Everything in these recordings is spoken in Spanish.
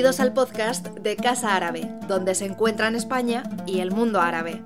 Bienvenidos al podcast de Casa Árabe, donde se encuentran España y el mundo árabe.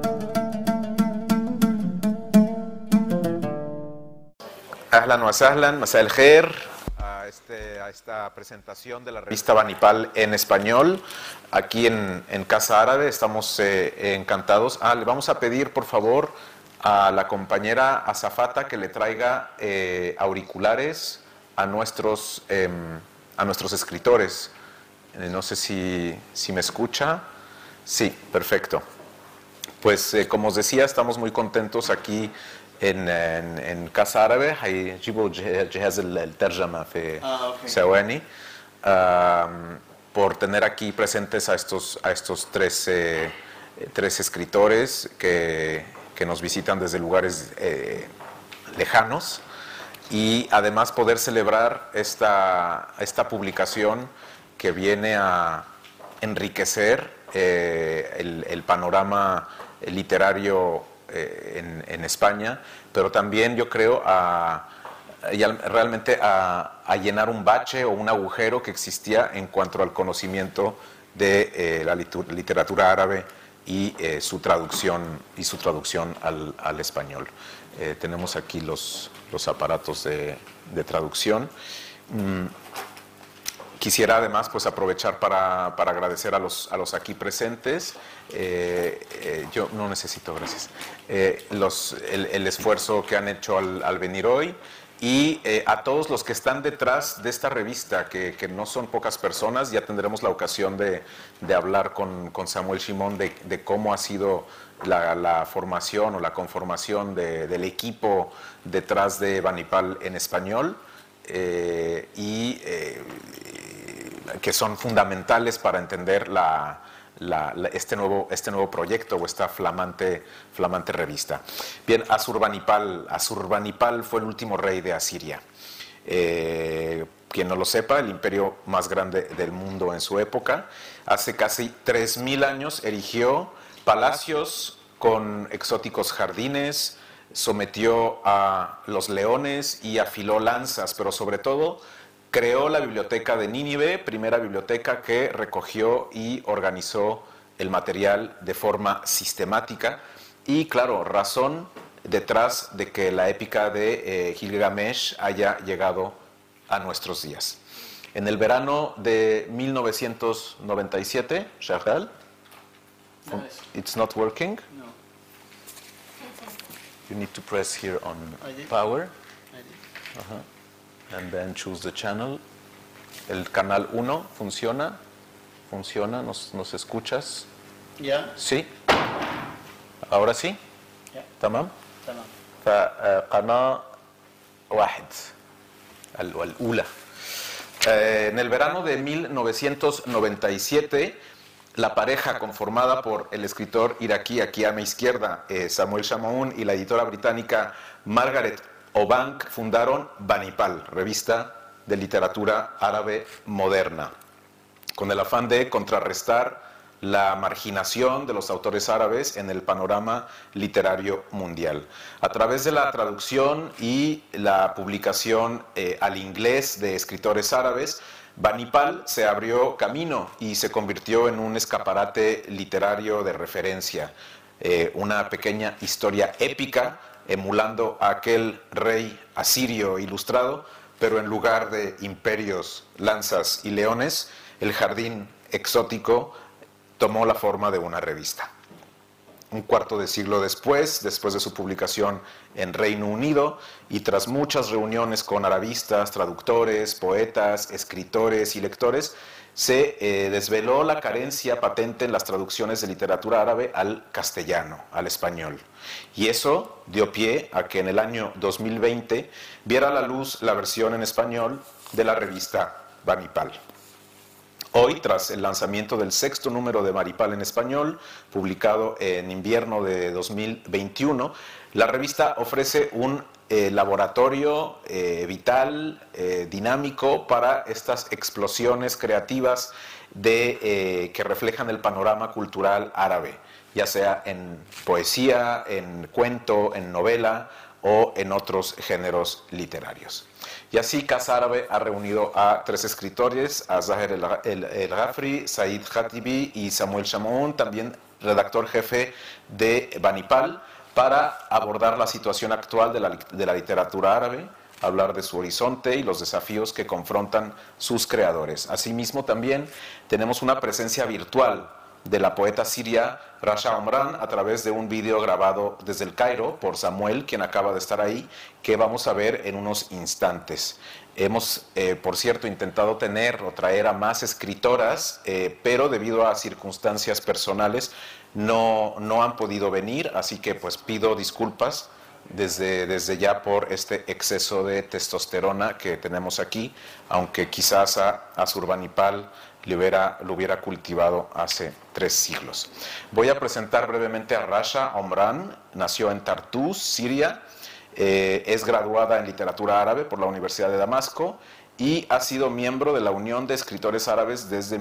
Ahlan wa sahlan, masá el khair a esta presentación de la revista Banipal en español aquí en Casa Árabe. Estamos encantados. Le vamos a pedir por favor a la compañera azafata que le traiga auriculares a nuestros escritores. No sé si me escucha. Sí, perfecto. Pues como os decía, estamos muy contentos aquí en Casa Árabe. هيجيبوا جهاز الترجمة في ثواني por tener aquí presentes a estos tres escritores que nos visitan desde lugares lejanos, y además poder celebrar esta publicación que viene a enriquecer el panorama literario en España, pero también yo creo realmente a llenar un bache o un agujero que existía en cuanto al conocimiento de la literatura árabe y su traducción al español. Tenemos aquí los aparatos de traducción. Quisiera además pues aprovechar para agradecer a los aquí presentes. Yo no necesito, gracias. El esfuerzo que han hecho al venir hoy, y a todos los que están detrás de esta revista, que no son pocas personas. Ya tendremos la ocasión de hablar con Samuel Shimon de cómo ha sido la formación o la conformación del equipo detrás de Banipal en español, que son fundamentales para entender este nuevo proyecto o esta flamante revista. Bien, Asurbanipal fue el último rey de Asiria. Quien no lo sepa, el imperio más grande del mundo en su época. Hace casi 3000 años erigió palacios con exóticos jardines, sometió a los leones y afiló lanzas, pero sobre todo creó la biblioteca de Nínive, primera biblioteca que recogió y organizó el material de forma sistemática, y claro, razón detrás de que la épica de Gilgamesh haya llegado a nuestros días. En el verano de 1997, Shahal, it's not working? No. You need to press here on power. I did. And then choose the channel. El canal 1 funciona, ¿nos escuchas? Yeah. Sí. Ahora sí. Yeah. تمام. تمام. فقناة 1 الأولى. En el verano de 1997, la pareja conformada por el escritor iraquí, aquí a mi izquierda, Samuel Shamaun, y la editora británica Margaret Obank fundaron Banipal, revista de literatura árabe moderna, con el afán de contrarrestar la marginación de los autores árabes en el panorama literario mundial. A través de la traducción y la publicación al inglés de escritores árabes, Banipal se abrió camino y se convirtió en un escaparate literario de referencia, una pequeña historia épica emulando a aquel rey asirio ilustrado, pero en lugar de imperios, lanzas y leones, el jardín exótico tomó la forma de una revista. Un cuarto de siglo después de su publicación en Reino Unido, y tras muchas reuniones con arabistas, traductores, poetas, escritores y lectores, se desveló la carencia patente en las traducciones de literatura árabe al castellano, al español. Y eso dio pie a que en el año 2020 viera la luz la versión en español de la revista Banipal. Hoy, tras el lanzamiento del 6º número de Banipal en español, publicado en invierno de 2021, la revista ofrece un laboratorio vital, dinámico para estas explosiones creativas que reflejan el panorama cultural árabe, ya sea en poesía, en cuento, en novela o en otros géneros literarios. Y así Casa Árabe ha reunido a 3 escritores, a Zaher El-Ghafri, Said Khatibi y Samuel Chamoun, también redactor jefe de Banipal, para abordar la situación actual de la literatura árabe, hablar de su horizonte y los desafíos que confrontan sus creadores. Asimismo, también tenemos una presencia virtual de la poeta siria Rasha Omran a través de un vídeo grabado desde el Cairo por Samuel, quien acaba de estar ahí, que vamos a ver en unos instantes. Hemos, por cierto, intentado tener o traer a más escritoras, pero debido a circunstancias personales no han podido venir, así que pues pido disculpas desde ya por este exceso de testosterona que tenemos aquí, aunque quizás a Surbanipal lo hubiera cultivado hace 3 siglos. Voy a presentar brevemente a Rasha Omran. Nació en Tartus, Siria, es graduada en literatura árabe por la Universidad de Damasco y ha sido miembro de la Unión de Escritores Árabes desde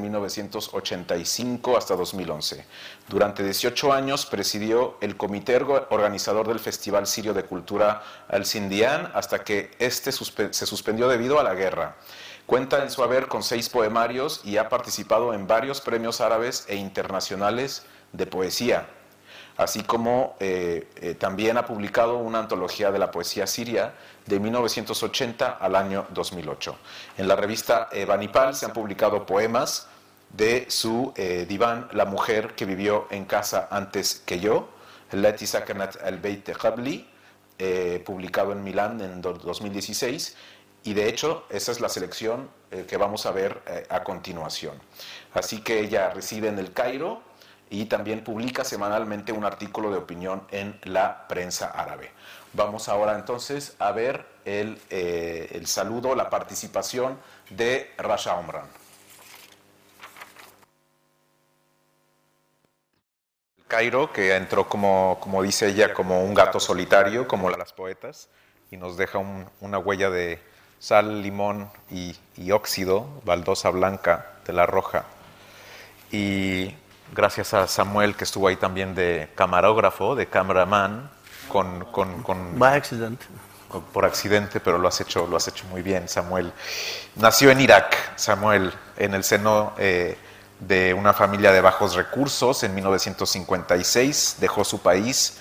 1985 hasta 2011. Durante 18 años presidió el comité organizador del Festival Sirio de Cultura Al-Sindian hasta que este se suspendió debido a la guerra. Cuenta en su haber con 6 poemarios y ha participado en varios premios árabes e internacionales de poesía, así como también ha publicado una antología de la poesía siria de 1980 al año 2008. En la revista Banipal se han publicado poemas de su diván La mujer que vivió en casa antes que yo, Lati Sakanat al-Beit Qabli, publicado en Milán en 2016, y de hecho esa es la selección que vamos a ver a continuación. Así que ella reside en el Cairo y también publica semanalmente un artículo de opinión en la prensa árabe. Vamos ahora entonces a ver el saludo, la participación de Rasha Omran. Cairo, que entró como dice ella, como un gato solitario, como las poetas, y nos deja una huella de sal, limón y óxido, baldosa blanca de la roja. Y gracias a Samuel, que estuvo ahí también de camarógrafo, de cameraman, By accident. Por accidente, pero lo has hecho muy bien, Samuel. Nació en Irak, Samuel, en el seno de una familia de bajos recursos en 1956. Dejó su país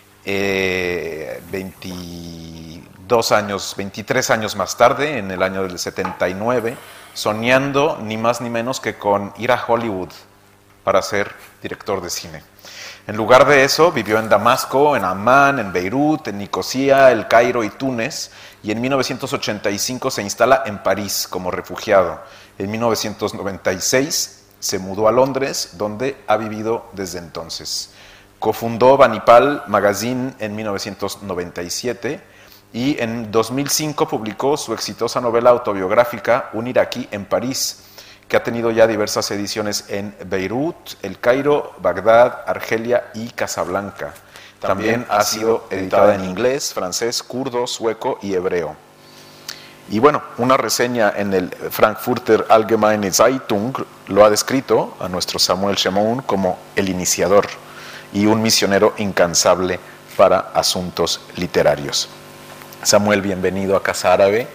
23 años más tarde, en el año del 79, soñando ni más ni menos que con ir a Hollywood para ser director de cine. En lugar de eso, vivió en Damasco, en Amán, en Beirut, en Nicosia, El Cairo y Túnez, y en 1985 se instala en París como refugiado. En 1996 se mudó a Londres, donde ha vivido desde entonces. Cofundó Banipal Magazine en 1997 y en 2005 publicó su exitosa novela autobiográfica Un iraquí en París, que ha tenido ya diversas ediciones en Beirut, El Cairo, Bagdad, Argelia y Casablanca. También ha sido editada en inglés, francés, kurdo, sueco y hebreo. Y bueno, una reseña en el Frankfurter Allgemeine Zeitung lo ha descrito a nuestro Samuel Chamoun como el iniciador y un misionero incansable para asuntos literarios. Samuel, bienvenido a Casa Árabe.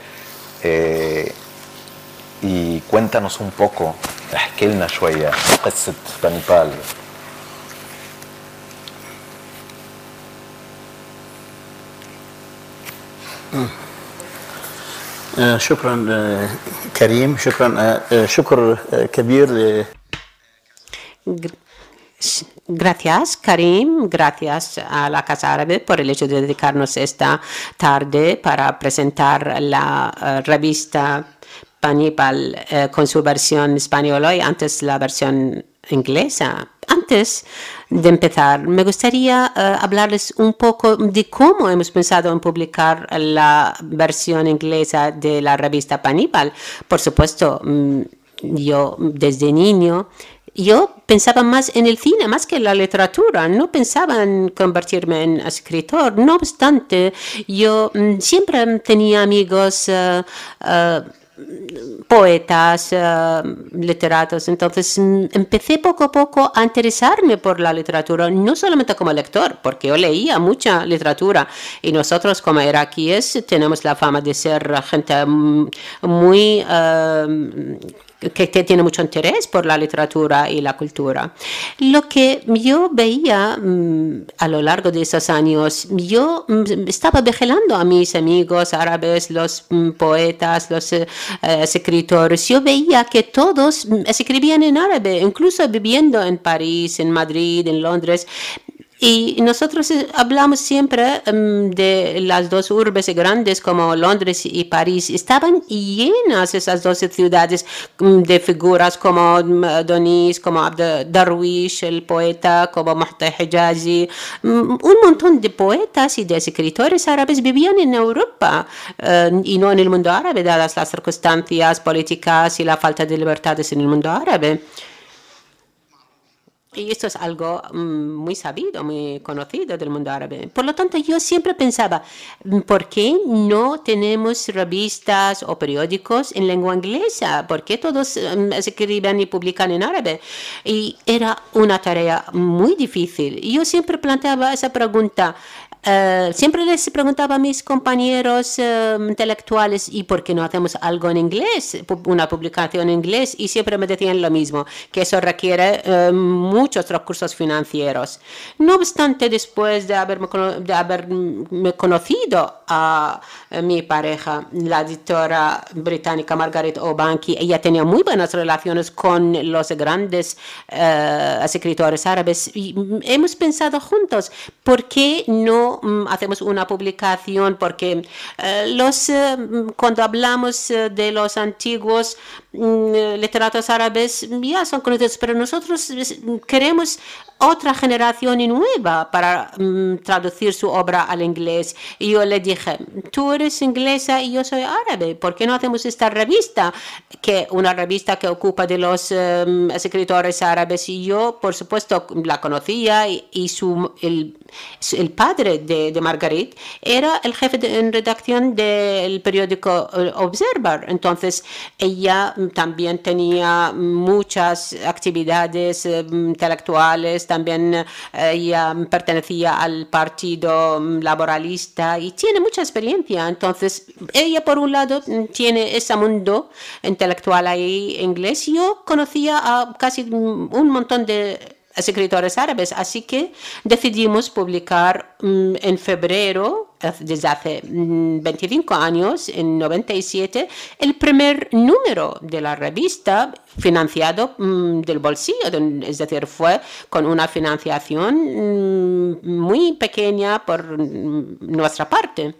Y cuéntanos un poco, احكي لنا شوية قصة بانيبال. شكرا كريم، شكر كبير. Gracias, Karim. Gracias a la Casa Árabe por el hecho de dedicarnos esta tarde para presentar la revista Banipal con su versión española y antes la versión inglesa. Antes de empezar, me gustaría hablarles un poco de cómo hemos pensado en publicar la versión inglesa de la revista Banipal. Por supuesto, yo desde niño yo pensaba más en el cine, más que en la literatura. No pensaba en convertirme en escritor. No obstante, yo siempre tenía amigos poetas, literatos. Entonces empecé poco a poco a interesarme por la literatura, no solamente como lector, porque yo leía mucha literatura y nosotros como iraquíes tenemos la fama de ser gente muy que tiene mucho interés por la literatura y la cultura. Lo que yo veía a lo largo de esos años, yo estaba vigilando a mis amigos árabes, los poetas, los escritores. Yo veía que todos escribían en árabe, incluso viviendo en París, en Madrid, en Londres. Y nosotros hablamos siempre de las dos urbes grandes como Londres y París. Estaban llenas esas dos ciudades de figuras como Donis, como Abd Darwish, el poeta, como Muhtar Hijazi. Un montón de poetas y de escritores árabes vivían en Europa y no en el mundo árabe, dadas las circunstancias políticas y la falta de libertades en el mundo árabe. Y esto es algo muy sabido, muy conocido del mundo árabe. Por lo tanto, yo siempre pensaba, ¿por qué no tenemos revistas o periódicos en lengua inglesa? ¿Por qué todos escriben y publican en árabe? Y era una tarea muy difícil. Y yo siempre planteaba esa pregunta. Siempre les preguntaba a mis compañeros intelectuales, ¿y por qué no hacemos algo en inglés? Una publicación en inglés. Y siempre me decían lo mismo, que eso requiere muchos recursos financieros. No obstante, después de haberme conocido a mi pareja, la editora británica Margaret O'Banky, ella tenía muy buenas relaciones con los grandes escritores árabes. Y hemos pensado juntos, ¿por qué no hacemos una publicación? Porque cuando hablamos de los antiguos literatos árabes ya son conocidos, pero nosotros queremos otra generación nueva para traducir su obra al inglés. Y yo le dije, tú eres inglesa y yo soy árabe, ¿por qué no hacemos esta revista? Una revista que ocupa de los escritores árabes. Y yo, por supuesto, la conocía y el padre de Margaret era el jefe en redacción del periódico Observer. Entonces, ella también tenía muchas actividades intelectuales. También ella pertenecía al Partido Laboralista y tiene mucha experiencia. Entonces, ella por un lado tiene ese mundo intelectual ahí inglés. Yo conocía a casi un montón de escritores árabes, así que decidimos publicar en febrero, desde hace 25 años, en 97, el primer número de la revista financiado del bolsillo, es decir, fue con una financiación muy pequeña por nuestra parte.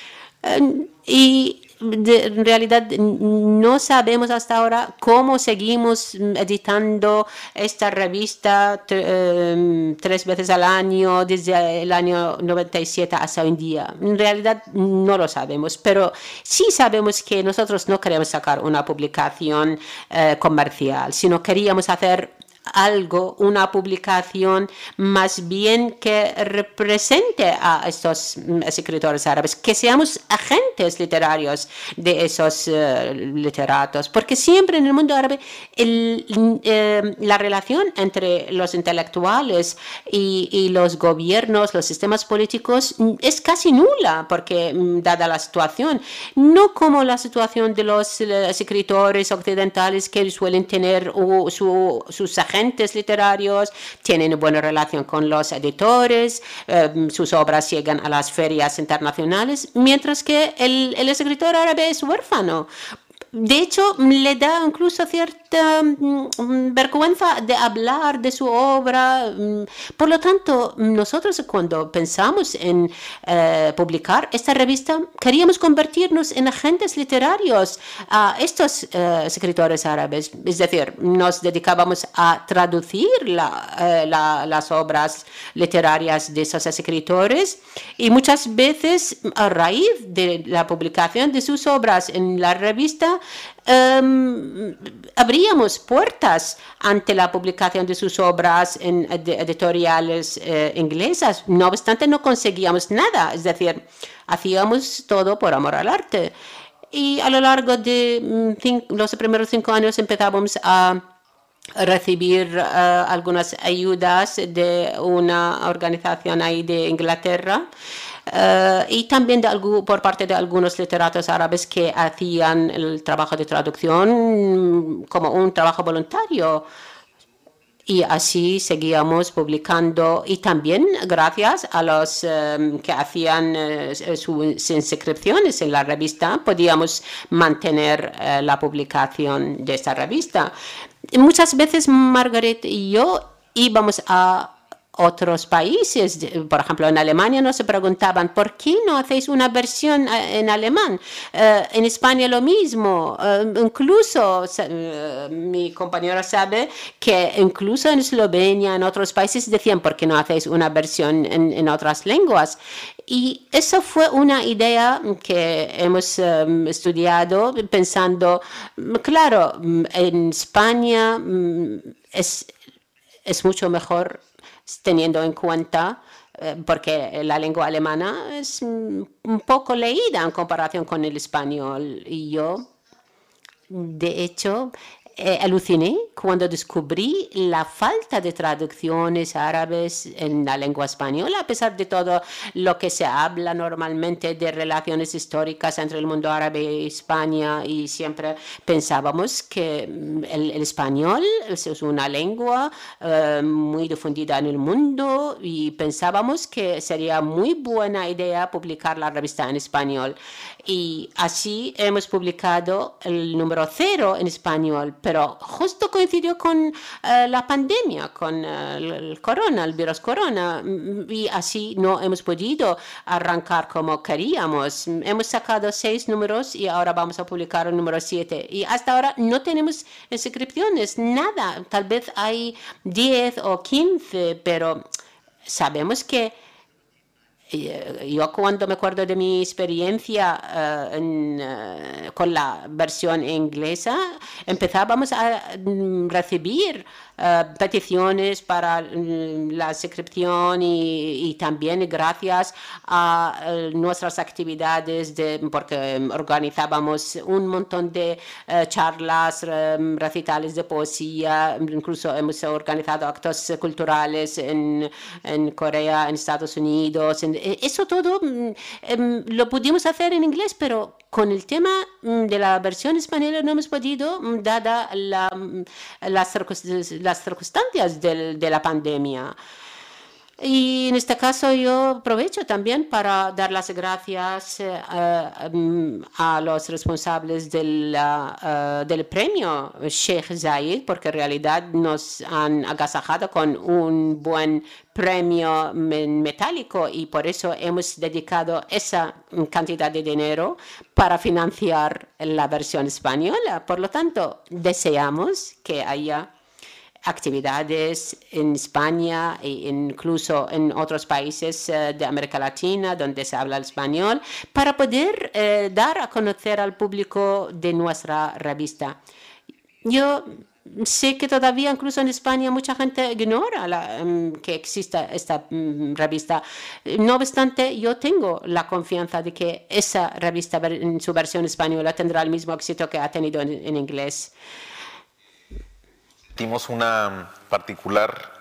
Y en realidad no sabemos hasta ahora cómo seguimos editando esta revista 3 veces al año desde el año 97 hasta hoy en día. En realidad no lo sabemos, pero sí sabemos que nosotros no queremos sacar una publicación comercial, sino queríamos hacer algo, una publicación más bien que represente a estos escritores árabes, que seamos agentes literarios de esos literatos, porque siempre en el mundo árabe la relación entre los intelectuales y los gobiernos, los sistemas políticos es casi nula, porque dada la situación, no como la situación de los escritores occidentales que suelen tener sus agentes literarios, tienen buena relación con los editores, sus obras llegan a las ferias internacionales, mientras que el escritor árabe es huérfano. De hecho, le da incluso cierta vergüenza de hablar de su obra. Por lo tanto, nosotros cuando pensamos en publicar esta revista, queríamos convertirnos en agentes literarios a estos escritores árabes. Es decir, nos dedicábamos a traducir las obras literarias de esos escritores y muchas veces a raíz de la publicación de sus obras en la revista, abríamos puertas ante la publicación de sus obras en editoriales inglesas. No obstante, no conseguíamos nada, es decir, hacíamos todo por amor al arte. y a lo largo de los primeros 5 años empezábamos a recibir algunas ayudas de una organización ahí de Inglaterra. Y también por parte de algunos literatos árabes que hacían el trabajo de traducción como un trabajo voluntario. Y así seguíamos publicando y también gracias a los que hacían sus inscripciones en la revista podíamos mantener la publicación de esta revista. Muchas veces Margaret y yo íbamos a otros países, por ejemplo en Alemania nos preguntaban ¿por qué no hacéis una versión en alemán? En España lo mismo, incluso mi compañero sabe que incluso en Eslovenia, en otros países decían ¿por qué no hacéis una versión en otras lenguas? Y eso fue una idea que hemos estudiado pensando, claro, en España es mucho mejor teniendo en cuenta, porque la lengua alemana es un poco leída en comparación con el español. Y yo, de hecho, aluciné cuando descubrí la falta de traducciones árabes en la lengua española, a pesar de todo lo que se habla normalmente de relaciones históricas entre el mundo árabe y España, y siempre pensábamos que el español es una lengua muy difundida en el mundo y pensábamos que sería muy buena idea publicar la revista en español. Y así hemos publicado el número 0 en español, pero justo coincidió con la pandemia, con el corona, el virus corona, y así no hemos podido arrancar como queríamos. Hemos sacado 6 números y ahora vamos a publicar el número 7. Y hasta ahora no tenemos inscripciones, nada. Tal vez hay 10 o 15, pero sabemos que yo cuando me acuerdo de mi experiencia con la versión inglesa, empezábamos a recibir peticiones para la suscripción y también gracias a nuestras actividades porque organizábamos un montón de charlas, recitales de poesía, incluso hemos organizado actos culturales en Corea, en Estados Unidos. Eso todo lo pudimos hacer en inglés, pero con el tema de la versión española no hemos podido, dada las circunstancias de la pandemia. Y en este caso yo aprovecho también para dar las gracias a los responsables del premio Sheikh Zayed, porque en realidad nos han agasajado con un buen premio metálico y por eso hemos dedicado esa cantidad de dinero para financiar la versión española. Por lo tanto, deseamos que haya actividades en España e incluso en otros países de América Latina donde se habla el español para poder dar a conocer al público de nuestra revista. Yo sé que todavía incluso en España mucha gente ignora que exista esta revista. No obstante, yo tengo la confianza de que esa revista en su versión española tendrá el mismo éxito que ha tenido en inglés. Sentimos una particular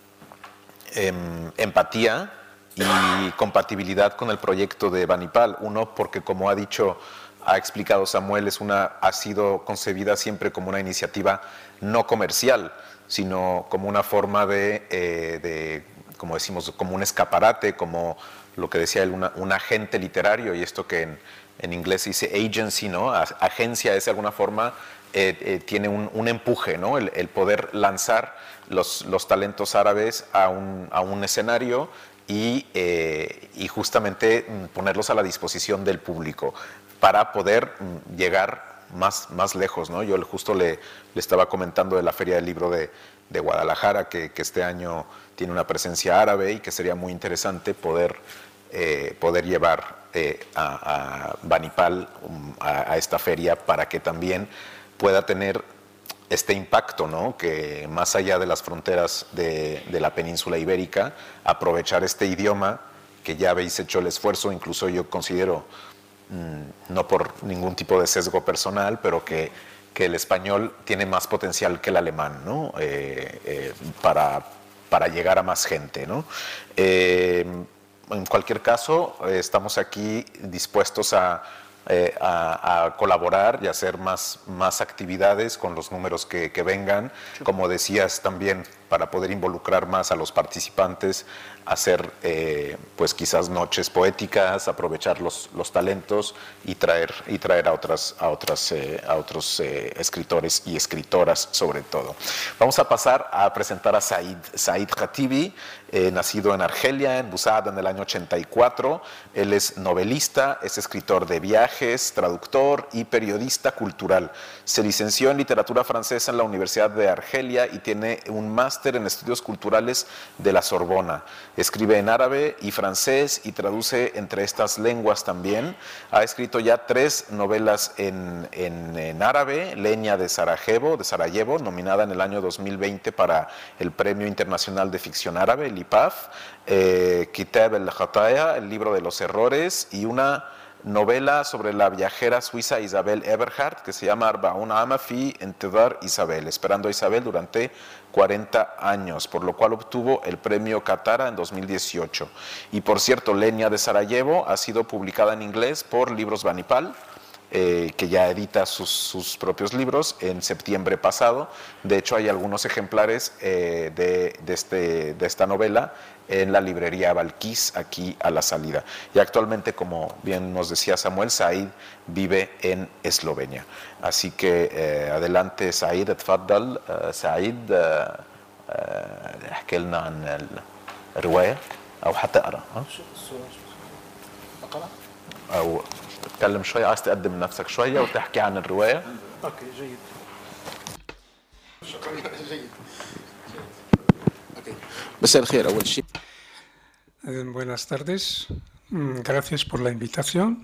empatía y compatibilidad con el proyecto de Banipal. Uno, porque como ha explicado Samuel, ha sido concebida siempre como una iniciativa no comercial, sino como una forma como decimos, como un escaparate, como lo que decía él, un agente literario, y esto que en inglés se dice agency, ¿no? Agencia es de alguna forma, tiene un empuje, ¿no? El poder lanzar los talentos árabes a un escenario y justamente ponerlos a la disposición del público para poder llegar más lejos, ¿no? Yo justo le estaba comentando de la Feria del Libro de Guadalajara, que este año tiene una presencia árabe y que sería muy interesante poder llevar a Banipal a esta feria para que también pueda tener este impacto, ¿no? Que más allá de las fronteras de la península ibérica, aprovechar este idioma que ya habéis hecho el esfuerzo, incluso yo considero no por ningún tipo de sesgo personal, pero que el español tiene más potencial que el alemán, ¿no? Para llegar a más gente, ¿no? En cualquier caso, estamos aquí dispuestos a colaborar y hacer más actividades con los números que vengan, como decías también, para poder involucrar más a los participantes, hacer pues quizás noches poéticas, aprovechar los talentos y traer a otros escritores y escritoras sobre todo. Vamos a pasar a presentar a Said Khatibi, nacido en Argelia, en Busada, en el año 84. Él es novelista, es escritor de viajes, traductor y periodista cultural. Se licenció en literatura francesa en la Universidad de Argelia y tiene un máster en estudios culturales de la Sorbona. Escribe en árabe y francés y traduce entre estas lenguas también. Ha escrito ya 3 novelas en árabe: Leña de Sarajevo, nominada en el año 2020 para el Premio Internacional de Ficción Árabe, el IPAF, Kitab el-Khataya, el libro de los errores, y una novela sobre la viajera suiza Isabel Eberhardt, que se llama Arbaun Ama fi Intidar Isabel, esperando a Isabel durante 40 años, por lo cual obtuvo el premio Katara en 2018. Y por cierto, Leña de Sarajevo ha sido publicada en inglés por Libros Banipal, que ya edita sus propios libros, en septiembre pasado. De hecho, hay algunos ejemplares de esta novela en la librería Balquís, aquí a la salida. Y actualmente, como bien nos decía Samuel, Said vive en Eslovenia. Así que adelante Said, اتفضل سعيد، احكي لنا عن الرواية أو حتقرأ. أقرأ؟ أو تتكلم شوية، عايز تقدم نفسك شوية وتحكي عن الرواية. أوكي، جيد. شكرا، جيد. مساء الخير أول شيء. Buenas tardes. Gracias por la invitación.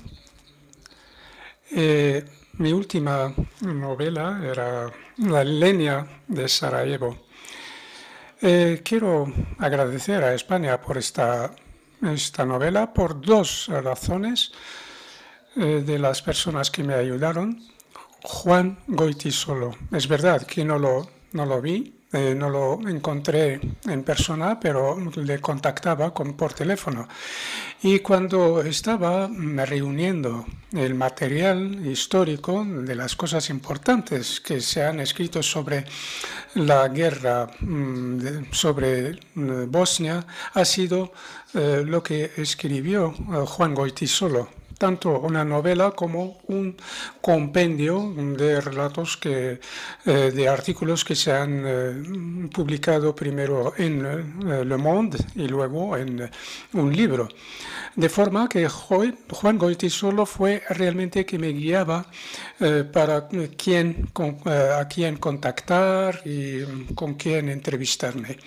Mi última novela era La leña de Sarajevo. Quiero agradecer a España por esta novela por 2 razones. De las personas que me ayudaron. Juan Goytisolo. Es verdad que no lo vi, no lo encontré en persona, pero le contactaba por teléfono. Y cuando estaba reuniendo el material histórico de las cosas importantes que se han escrito sobre la guerra, sobre Bosnia, ha sido lo que escribió Juan Goytisolo. Tanto una novela como un compendio de relatos de artículos que se han publicado primero en Le Monde y luego en un libro. De forma que Juan Goytisolo fue realmente que me guiaba para a quién contactar y con quién entrevistarme.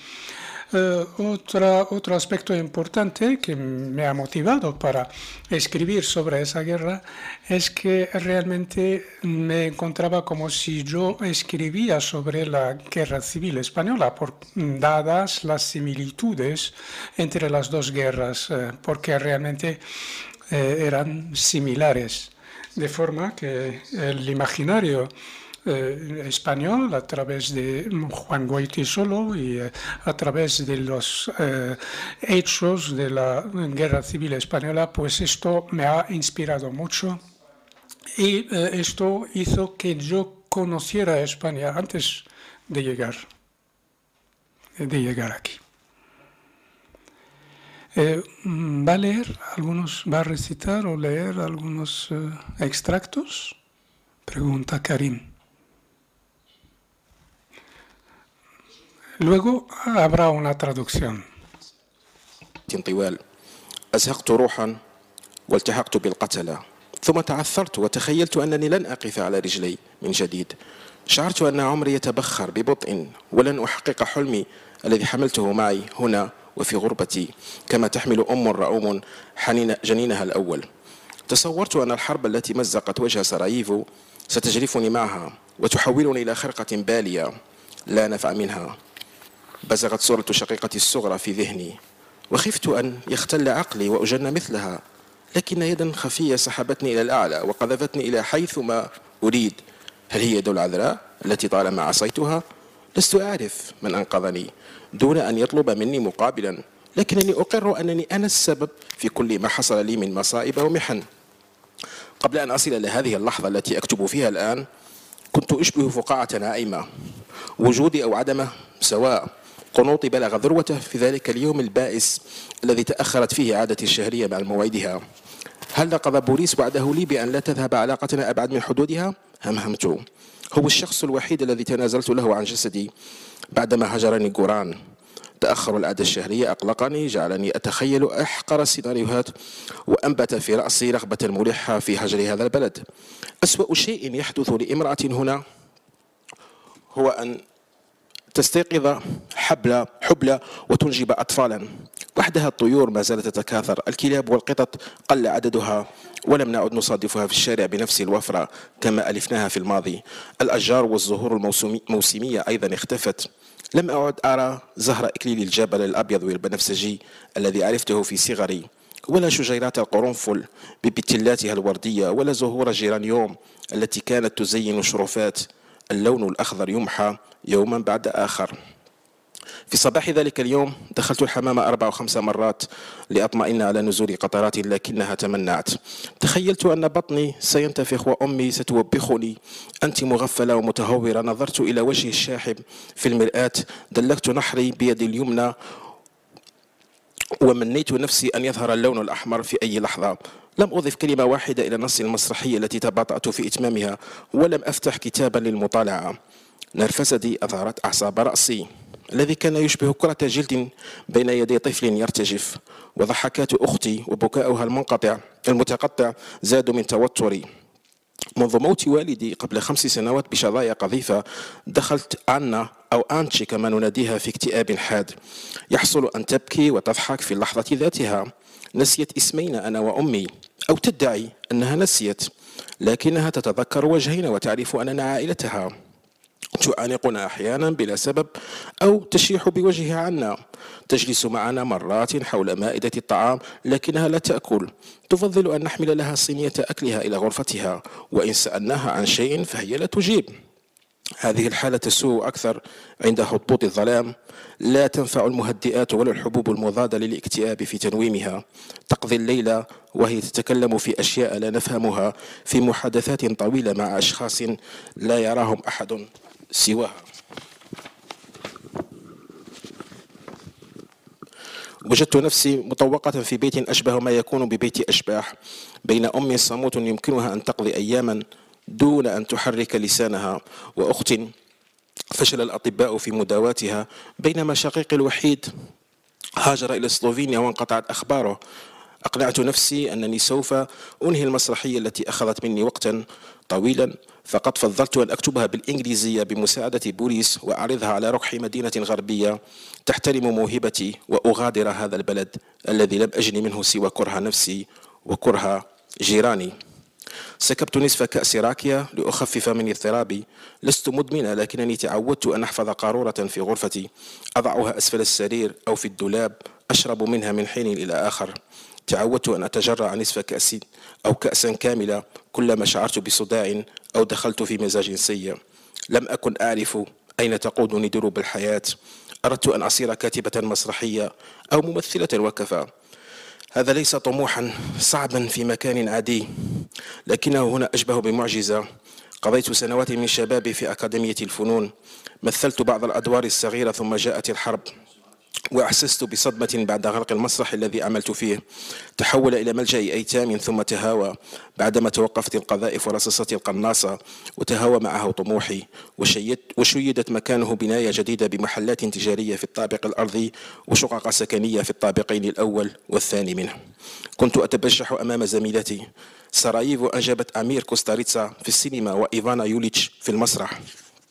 Otro aspecto importante que me ha motivado para escribir sobre esa guerra es que realmente me encontraba como si yo escribía sobre la guerra civil española, dadas las similitudes entre las 2 guerras, porque realmente eran similares. De forma que el imaginario español, a través de Juan Goytisolo y a través de los hechos de la Guerra Civil Española, pues esto me ha inspirado mucho y esto hizo que yo conociera a España antes de llegar aquí. ¿Va a recitar o leer algunos extractos? Pregunta Karim. Luego habrá una traducción. طوال أزهقت روحا والتحقت بالقتلة ثم تعثرت وتخيلت أنني لن أقف على رجلي من جديد شعرت أن عمري يتبخر ببطء ولن أحقق حلمي الذي حملته معي هنا وفي غربتي كما تحمل أم رؤوم جنينها الأول تصورت أن الحرب التي مزقت وجه سراييفو ستجرفني معها وتحولني إلى خرقة بالية لا نفع منها بزغت صورة شقيقتي الصغرى في ذهني وخفت أن يختل عقلي وأجن مثلها لكن يدا خفية سحبتني إلى الأعلى وقذفتني إلى حيث ما أريد. هل هي يد العذراء التي طالما عصيتها؟ لست أعرف من أنقذني دون أن يطلب مني مقابلا، لكنني أقر أنني أنا السبب في كل ما حصل لي من مصائب ومحن. قبل أن أصل إلى هذه اللحظة التي أكتب فيها الآن كنت أشبه فقاعة نائمة، وجودي أو عدمه سواء. قنوطي بلغ ذروته في ذلك اليوم البائس الذي تأخرت فيه عادتي الشهرية مع موعدها. هل نقض بوليس وعده لي بأن لا تذهب علاقتنا أبعد من حدودها؟ همهمت. هو الشخص الوحيد الذي تنازلت له عن جسدي بعدما هجرني جوران. تأخر العادة الشهرية أقلقني، جعلني أتخيل أحقر السيناريوهات، وأنبت في رأسي رغبة ملحة في هجر هذا البلد. أسوأ شيء يحدث لامرأة هنا هو أن تستيقظ حبلى وتنجب أطفالا. وحدها الطيور ما زالت تتكاثر، الكلاب والقطط قل عددها ولم نعد نصادفها في الشارع بنفس الوفرة كما ألفناها في الماضي. الأشجار والزهور الموسمية أيضا اختفت. لم أعد أرى زهر إكليل الجبل الأبيض والبنفسجي الذي عرفته في صغري، ولا شجيرات القرنفل ببتلاتها الوردية، ولا زهور الجيرانيوم التي كانت تزين الشرفات. اللون الأخضر يمحى يوما بعد آخر. في صباح ذلك اليوم دخلت الحمام 4 أو 5 مرات لأطمئن على نزول قطرات، لكنها تمنعت. تخيلت أن بطني سينتفخ وأمي ستوبخني. أنت مغفلة ومتهورة. نظرت إلى وجهي الشاحب في المرآة، دلكت نحري بيدي اليمنى ومنيت نفسي أن يظهر اللون الأحمر في أي لحظة. لم أضف كلمة واحدة إلى نص المسرحية التي تباطأت في إتمامها، ولم أفتح كتابا للمطالعة. نرفزتي أثارت أعصاب رأسي الذي كان يشبه كرة جلد بين يدي طفل يرتجف، وضحكات أختي وبكاؤها المتقطع زادوا من توتري. منذ موت والدي قبل 5 سنوات بشظايا قذيفة دخلت أنا أو أنتشي كما نناديها في اكتئاب حاد. يحصل أن تبكي وتضحك في اللحظة ذاتها. نسيت اسمينا أنا وأمي، أو تدعي أنها نسيت، لكنها تتذكر وجهينا وتعرف أننا عائلتها. تعانقنا أحيانا بلا سبب أو تشيح بوجهها عنا. تجلس معنا مرات حول مائدة الطعام لكنها لا تأكل. تفضل أن نحمل لها صينية أكلها إلى غرفتها، وإن سألناها عن شيء فهي لا تجيب. هذه الحالة تسوء أكثر عند هبوط الظلام. لا تنفع المهدئات ولا الحبوب المضادة للاكتئاب في تنويمها. تقضي الليلة وهي تتكلم في أشياء لا نفهمها، في محادثات طويلة مع أشخاص لا يراهم أحد سواها. وجدت نفسي مطوقة في بيت أشبه ما يكون ببيت أشباح، بين أم صموت يمكنها أن تقضي أياما دون أن تحرك لسانها، وأخت فشل الأطباء في مداواتها، بينما شقيقي الوحيد هاجر إلى سلوفينيا وانقطعت أخباره. أقنعت نفسي أنني سوف أنهي المسرحية التي أخذت مني وقتا طويلا، فقد فضلت أن أكتبها بالإنجليزية بمساعدة بوليس وأعرضها على ركح مدينة غربية تحترم موهبتي، وأغادر هذا البلد الذي لم أجن منه سوى كره نفسي وكره جيراني. سكبت نصف كأس راكية لأخفف من اضطرابي. لست مدمنة، لكنني تعودت أن أحفظ قارورة في غرفتي أضعها أسفل السرير أو في الدولاب، أشرب منها من حين إلى آخر. تعودت أن أتجرع نصف كأس أو كأسا كاملة كلما شعرت بصداع أو دخلت في مزاج سيء. لم أكن أعرف أين تقودني دروب الحياة. أردت أن أصير كاتبة مسرحية أو ممثلة وكفى. هذا ليس طموحا صعبا في مكان عادي، لكنه هنا أشبه بمعجزة. قضيت سنوات من شبابي في أكاديمية الفنون، مثلت بعض الأدوار الصغيرة، ثم جاءت الحرب وأحسست بصدمة بعد غرق المسرح الذي عملت فيه. تحول إلى ملجأ أيتام ثم تهاوى بعدما توقفت القذائف ورصاصات القناصة، وتهاوى معه طموحي، وشيدت مكانه بناية جديدة بمحلات تجارية في الطابق الأرضي وشقق سكنية في الطابقين الأول والثاني منه. كنت أتبجح أمام زميلتي. سراييفو أنجبت أمير كوستاريتسا في السينما وإيفانا يوليتش في المسرح.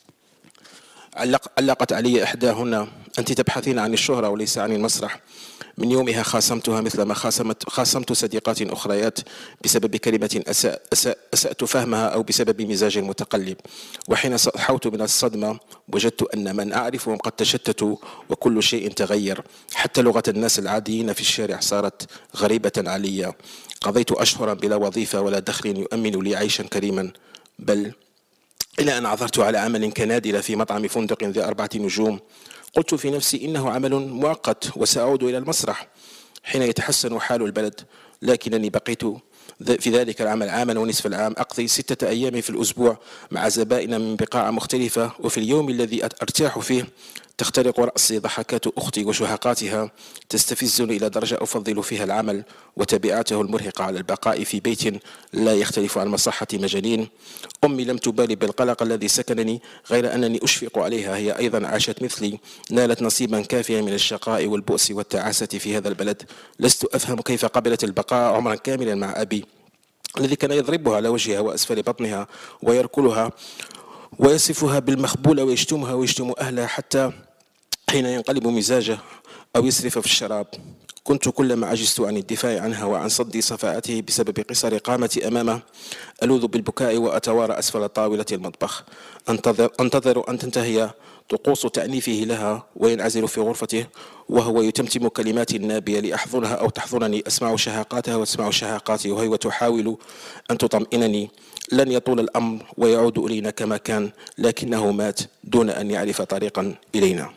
علقت علي إحداهن: أنت تبحثين عن الشهرة وليس عن المسرح. من يومها خاصمتها مثلما خاصمت صديقات أخريات بسبب كلمة أسأت فهمها أو بسبب مزاج متقلب. وحين صحوت من الصدمة وجدت أن من أعرفهم قد تشتتوا وكل شيء تغير، حتى لغة الناس العاديين في الشارع صارت غريبة علي. قضيت أشهرا بلا وظيفة ولا دخل يؤمن لي عيشا كريما، بل إلى أن عثرت على عمل كنادلة في مطعم فندق ذي 4 نجوم. قلت في نفسي إنه عمل مؤقت وسأعود إلى المسرح حين يتحسن حال البلد، لكنني بقيت في ذلك العمل عاما ونصف العام، أقضي 6 أيام في الأسبوع مع زبائن من بقاع مختلفة، وفي اليوم الذي أرتاح فيه تخترق رأسي ضحكات أختي وشهقاتها تستفزني إلى درجة أفضل فيها العمل وتبعاته المرهقة على البقاء في بيت لا يختلف عن مصحة مجانين. أمي لم تبالي بالقلق الذي سكنني، غير أنني أشفق عليها، هي أيضا عاشت مثلي، نالت نصيبا كافيا من الشقاء والبؤس والتعاسة في هذا البلد. لست أفهم كيف قبلت البقاء عمرا كاملا مع أبي الذي كان يضربها على وجهها وأسفل بطنها ويركلها ويصفها بالمخبولة ويشتمها ويشتم أهلها حتى حين ينقلب مزاجه أو يسرف في الشراب. كنت كلما عجزت عن الدفاع عنها وعن صد صفاءته بسبب قصر قامتي أمامه ألوذ بالبكاء وأتوارى أسفل طاولة المطبخ، أنتظر أن تنتهي طقوس تأنيفه لها وينعزل في غرفته وهو يتمتم كلمات نابية لأحضنها أو تحضنني. أسمع شهاقاتها وتسمع شهاقاتي وهي تحاول أن تطمئنني. لن يطول الأمر ويعود إلينا كما كان، لكنه مات دون أن يعرف طريقا إلينا.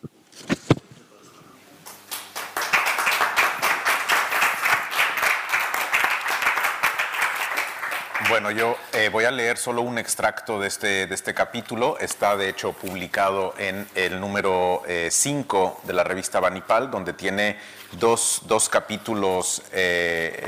Bueno, yo voy a leer solo un extracto de este capítulo. Está de hecho publicado en el número 5 de la revista Banipal, donde tiene dos capítulos de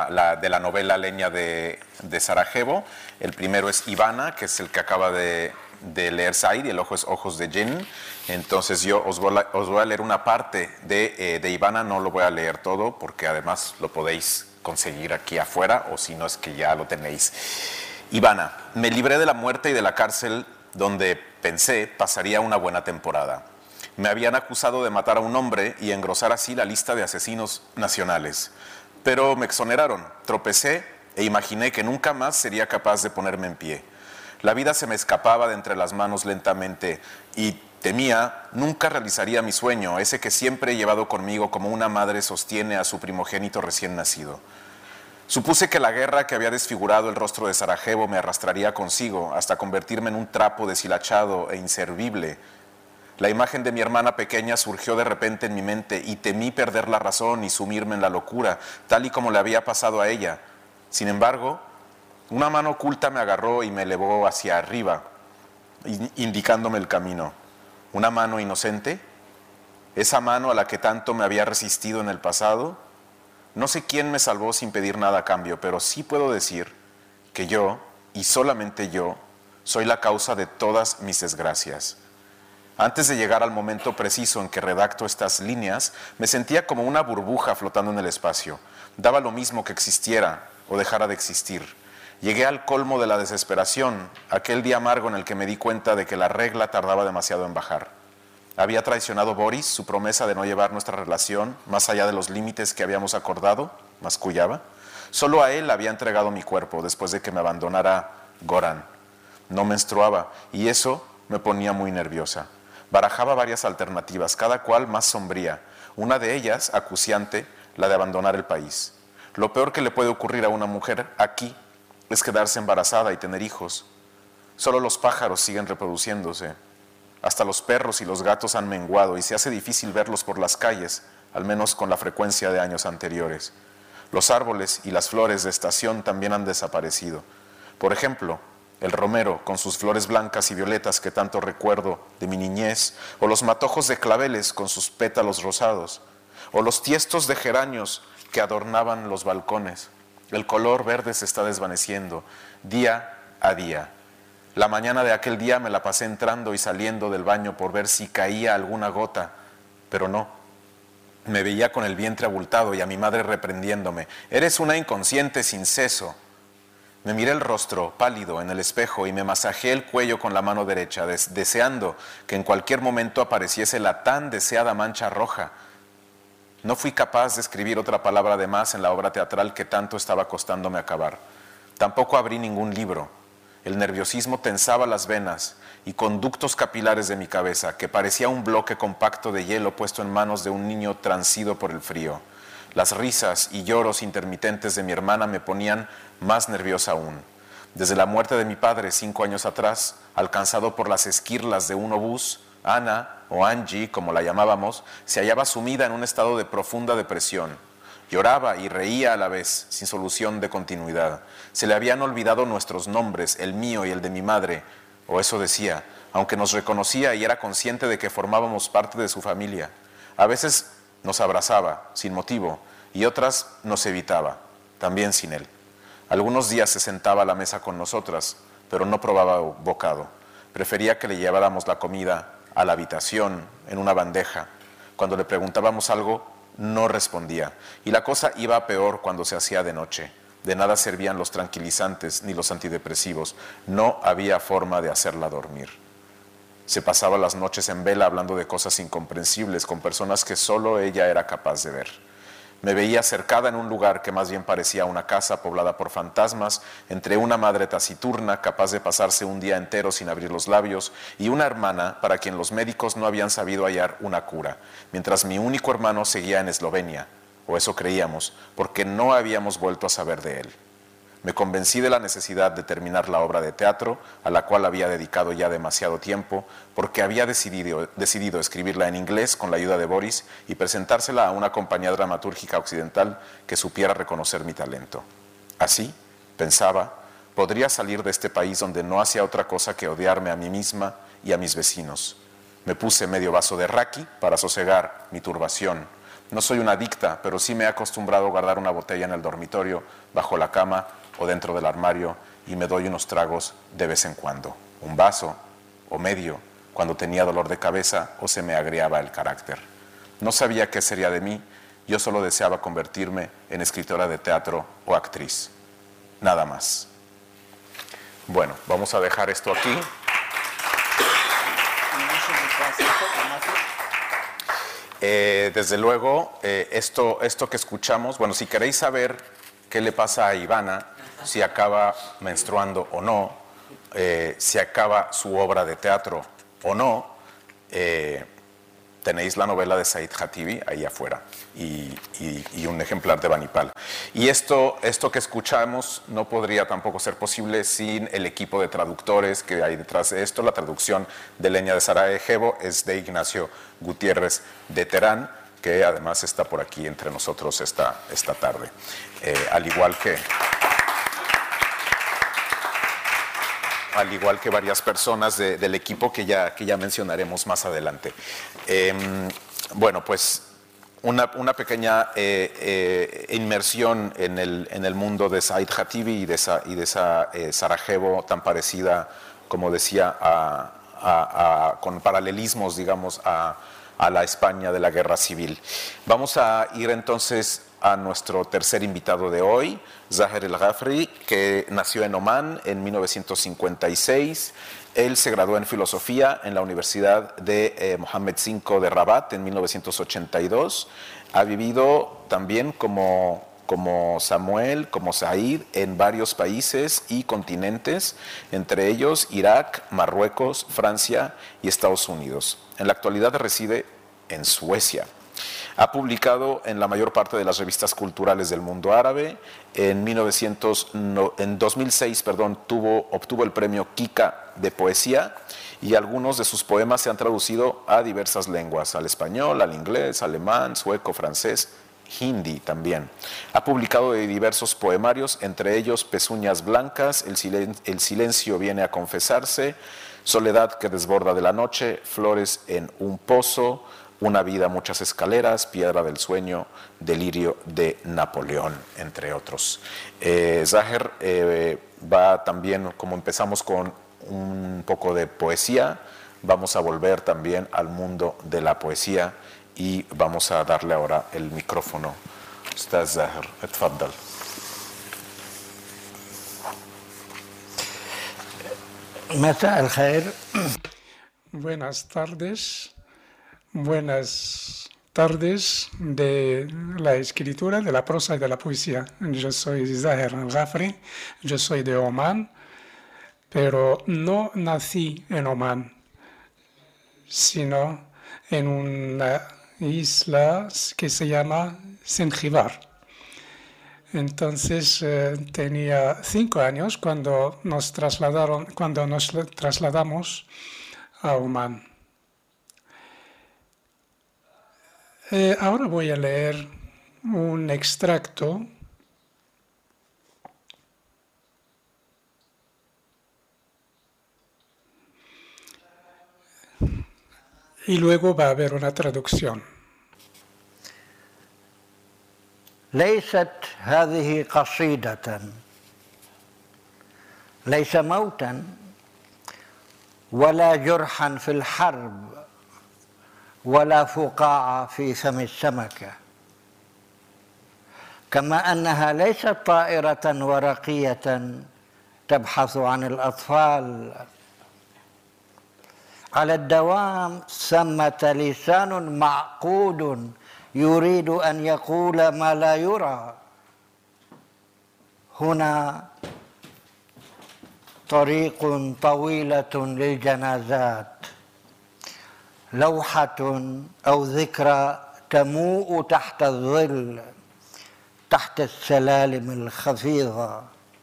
la novela Leña de Sarajevo. El primero es Ivana, que es el que acaba de leer Said, y el ojo es Ojos de Jinn. Entonces yo os voy a leer una parte de Ivana, no lo voy a leer todo porque además lo podéis conseguir aquí afuera, o si no es que ya lo tenéis. Ivana: me libré de la muerte y de la cárcel donde pensé pasaría una buena temporada. Me habían acusado de matar a un hombre y engrosar así la lista de asesinos nacionales. Pero me exoneraron, tropecé e imaginé que nunca más sería capaz de ponerme en pie. La vida se me escapaba de entre las manos lentamente y temía nunca realizaría mi sueño, ese que siempre he llevado conmigo como una madre sostiene a su primogénito recién nacido. Supuse que la guerra que había desfigurado el rostro de Sarajevo me arrastraría consigo hasta convertirme en un trapo deshilachado e inservible. La imagen de mi hermana pequeña surgió de repente en mi mente y temí perder la razón y sumirme en la locura, tal y como le había pasado a ella. Sin embargo, una mano oculta me agarró y me elevó hacia arriba, indicándome el camino. ¿Una mano inocente? ¿Esa mano a la que tanto me había resistido en el pasado? No sé quién me salvó sin pedir nada a cambio, pero sí puedo decir que yo, y solamente yo, soy la causa de todas mis desgracias. Antes de llegar al momento preciso en que redacto estas líneas, me sentía como una burbuja flotando en el espacio. Daba lo mismo que existiera o dejara de existir. Llegué al colmo de la desesperación, aquel día amargo en el que me di cuenta de que la regla tardaba demasiado en bajar. ¿Había traicionado Boris su promesa de no llevar nuestra relación más allá de los límites que habíamos acordado? Mascullaba. Solo a él había entregado mi cuerpo después de que me abandonara Goran. No menstruaba y eso me ponía muy nerviosa. Barajaba varias alternativas, cada cual más sombría. Una de ellas, acuciante, la de abandonar el país. Lo peor que le puede ocurrir a una mujer aquí es quedarse embarazada y tener hijos. Solo los pájaros siguen reproduciéndose. Hasta los perros y los gatos han menguado y se hace difícil verlos por las calles, al menos con la frecuencia de años anteriores. Los árboles y las flores de estación también han desaparecido. Por ejemplo, el romero con sus flores blancas y violetas que tanto recuerdo de mi niñez, o los matojos de claveles con sus pétalos rosados, o los tiestos de geranios que adornaban los balcones. El color verde se está desvaneciendo día a día. La mañana de aquel día me la pasé entrando y saliendo del baño por ver si caía alguna gota, pero no. Me veía con el vientre abultado y a mi madre reprendiéndome. «Eres una inconsciente sin seso». Me miré el rostro pálido en el espejo y me masajeé el cuello con la mano derecha, deseando que en cualquier momento apareciese la tan deseada mancha roja. No fui capaz de escribir otra palabra de más en la obra teatral que tanto estaba costándome acabar. Tampoco abrí ningún libro. El nerviosismo tensaba las venas y conductos capilares de mi cabeza, que parecía un bloque compacto de hielo puesto en manos de un niño transido por el frío. Las risas y lloros intermitentes de mi hermana me ponían más nerviosa aún. Desde la muerte de mi padre 5 años atrás, alcanzado por las esquirlas de un obús, Ana, o Angie, como la llamábamos, se hallaba sumida en un estado de profunda depresión. Lloraba y reía a la vez, sin solución de continuidad. Se le habían olvidado nuestros nombres, el mío y el de mi madre, o eso decía, aunque nos reconocía y era consciente de que formábamos parte de su familia. A veces nos abrazaba, sin motivo, y otras nos evitaba, también sin él. Algunos días se sentaba a la mesa con nosotras, pero no probaba bocado. Prefería que le lleváramos la comida a la habitación, en una bandeja. Cuando le preguntábamos algo, no respondía. Y la cosa iba peor cuando se hacía de noche. De nada servían los tranquilizantes ni los antidepresivos. No había forma de hacerla dormir. Se pasaba las noches en vela hablando de cosas incomprensibles con personas que solo ella era capaz de ver. Me veía cercada en un lugar que más bien parecía una casa poblada por fantasmas, entre una madre taciturna capaz de pasarse un día entero sin abrir los labios y una hermana para quien los médicos no habían sabido hallar una cura, mientras mi único hermano seguía en Eslovenia, o eso creíamos, porque no habíamos vuelto a saber de él. Me convencí de la necesidad de terminar la obra de teatro, a la cual había dedicado ya demasiado tiempo, porque había decidido escribirla en inglés con la ayuda de Boris y presentársela a una compañía dramatúrgica occidental que supiera reconocer mi talento. Así, pensaba, podría salir de este país donde no hacía otra cosa que odiarme a mí misma y a mis vecinos. Me puse medio vaso de raki para sosegar mi turbación. No soy una adicta, pero sí me he acostumbrado a guardar una botella en el dormitorio, bajo la cama o dentro del armario, y me doy unos tragos de vez en cuando. Un vaso o medio, cuando tenía dolor de cabeza o se me agriaba el carácter. No sabía qué sería de mí, yo solo deseaba convertirme en escritora de teatro o actriz. Nada más. Bueno, vamos a dejar esto aquí. Desde luego, esto que escuchamos, bueno, si queréis saber qué le pasa a Ivana, si acaba menstruando o no, si acaba su obra de teatro o no, tenéis la novela de Said Hatibi ahí afuera y un ejemplar de Banipal. Y esto que escuchamos no podría tampoco ser posible sin el equipo de traductores que hay detrás de esto. La traducción de Leña de Sarajevo es de Ignacio Gutiérrez de Terán, que además está por aquí entre nosotros esta tarde. Al igual que varias personas del equipo que ya mencionaremos más adelante. Bueno, pues una pequeña inmersión en el mundo de Said Hatibi y de esa Sarajevo tan parecida, como decía, con paralelismos, digamos, a la España de la Guerra Civil. Vamos a ir entonces a nuestro tercer invitado de hoy, Zaher El-Ghafri, que nació en Omán en 1956. Él se graduó en filosofía en la Universidad de Mohammed V de Rabat en 1982. Ha vivido también como Samuel, como Said, en varios países y continentes, entre ellos Irak, Marruecos, Francia y Estados Unidos. En la actualidad reside en Suecia. Ha publicado en la mayor parte de las revistas culturales del mundo árabe. En 2006 obtuvo el premio Kika de poesía y algunos de sus poemas se han traducido a diversas lenguas, al español, al inglés, alemán, sueco, francés, hindi también. Ha publicado diversos poemarios, entre ellos Pezuñas Blancas, El silencio viene a confesarse, Soledad que desborda de la noche, Flores en un pozo, Una vida, muchas escaleras, Piedra del sueño, Delirio de Napoleón, entre otros. Zaher va también, como empezamos con un poco de poesía, vamos a volver también al mundo de la poesía y vamos a darle ahora el micrófono. Ustaz Zaher, اتفضل. مساء الخير. Buenas tardes. Buenas tardes de la escritura, de la prosa y de la poesía. Yo soy Zaher El-Ghafri, yo soy de Omán, pero no nací en Omán, sino en una isla que se llama Zanzíbar. Entonces tenía 5 años cuando nos trasladamos a Omán. Ahora voy a leer un extracto y luego va a haber una traducción. ليست هذه قصيدة، ليس موتا ولا جرحا في الحرب ولا فقاعة في فم السمكة، كما أنها ليست طائرة ورقية تبحث عن الأطفال. على الدوام ثمة لسان معقود يريد أن يقول ما لا يرى. هنا طريق طويلة للجنازات، لوحة أو ذكرى تموء تحت الظل، تحت السلالم الخفيضة.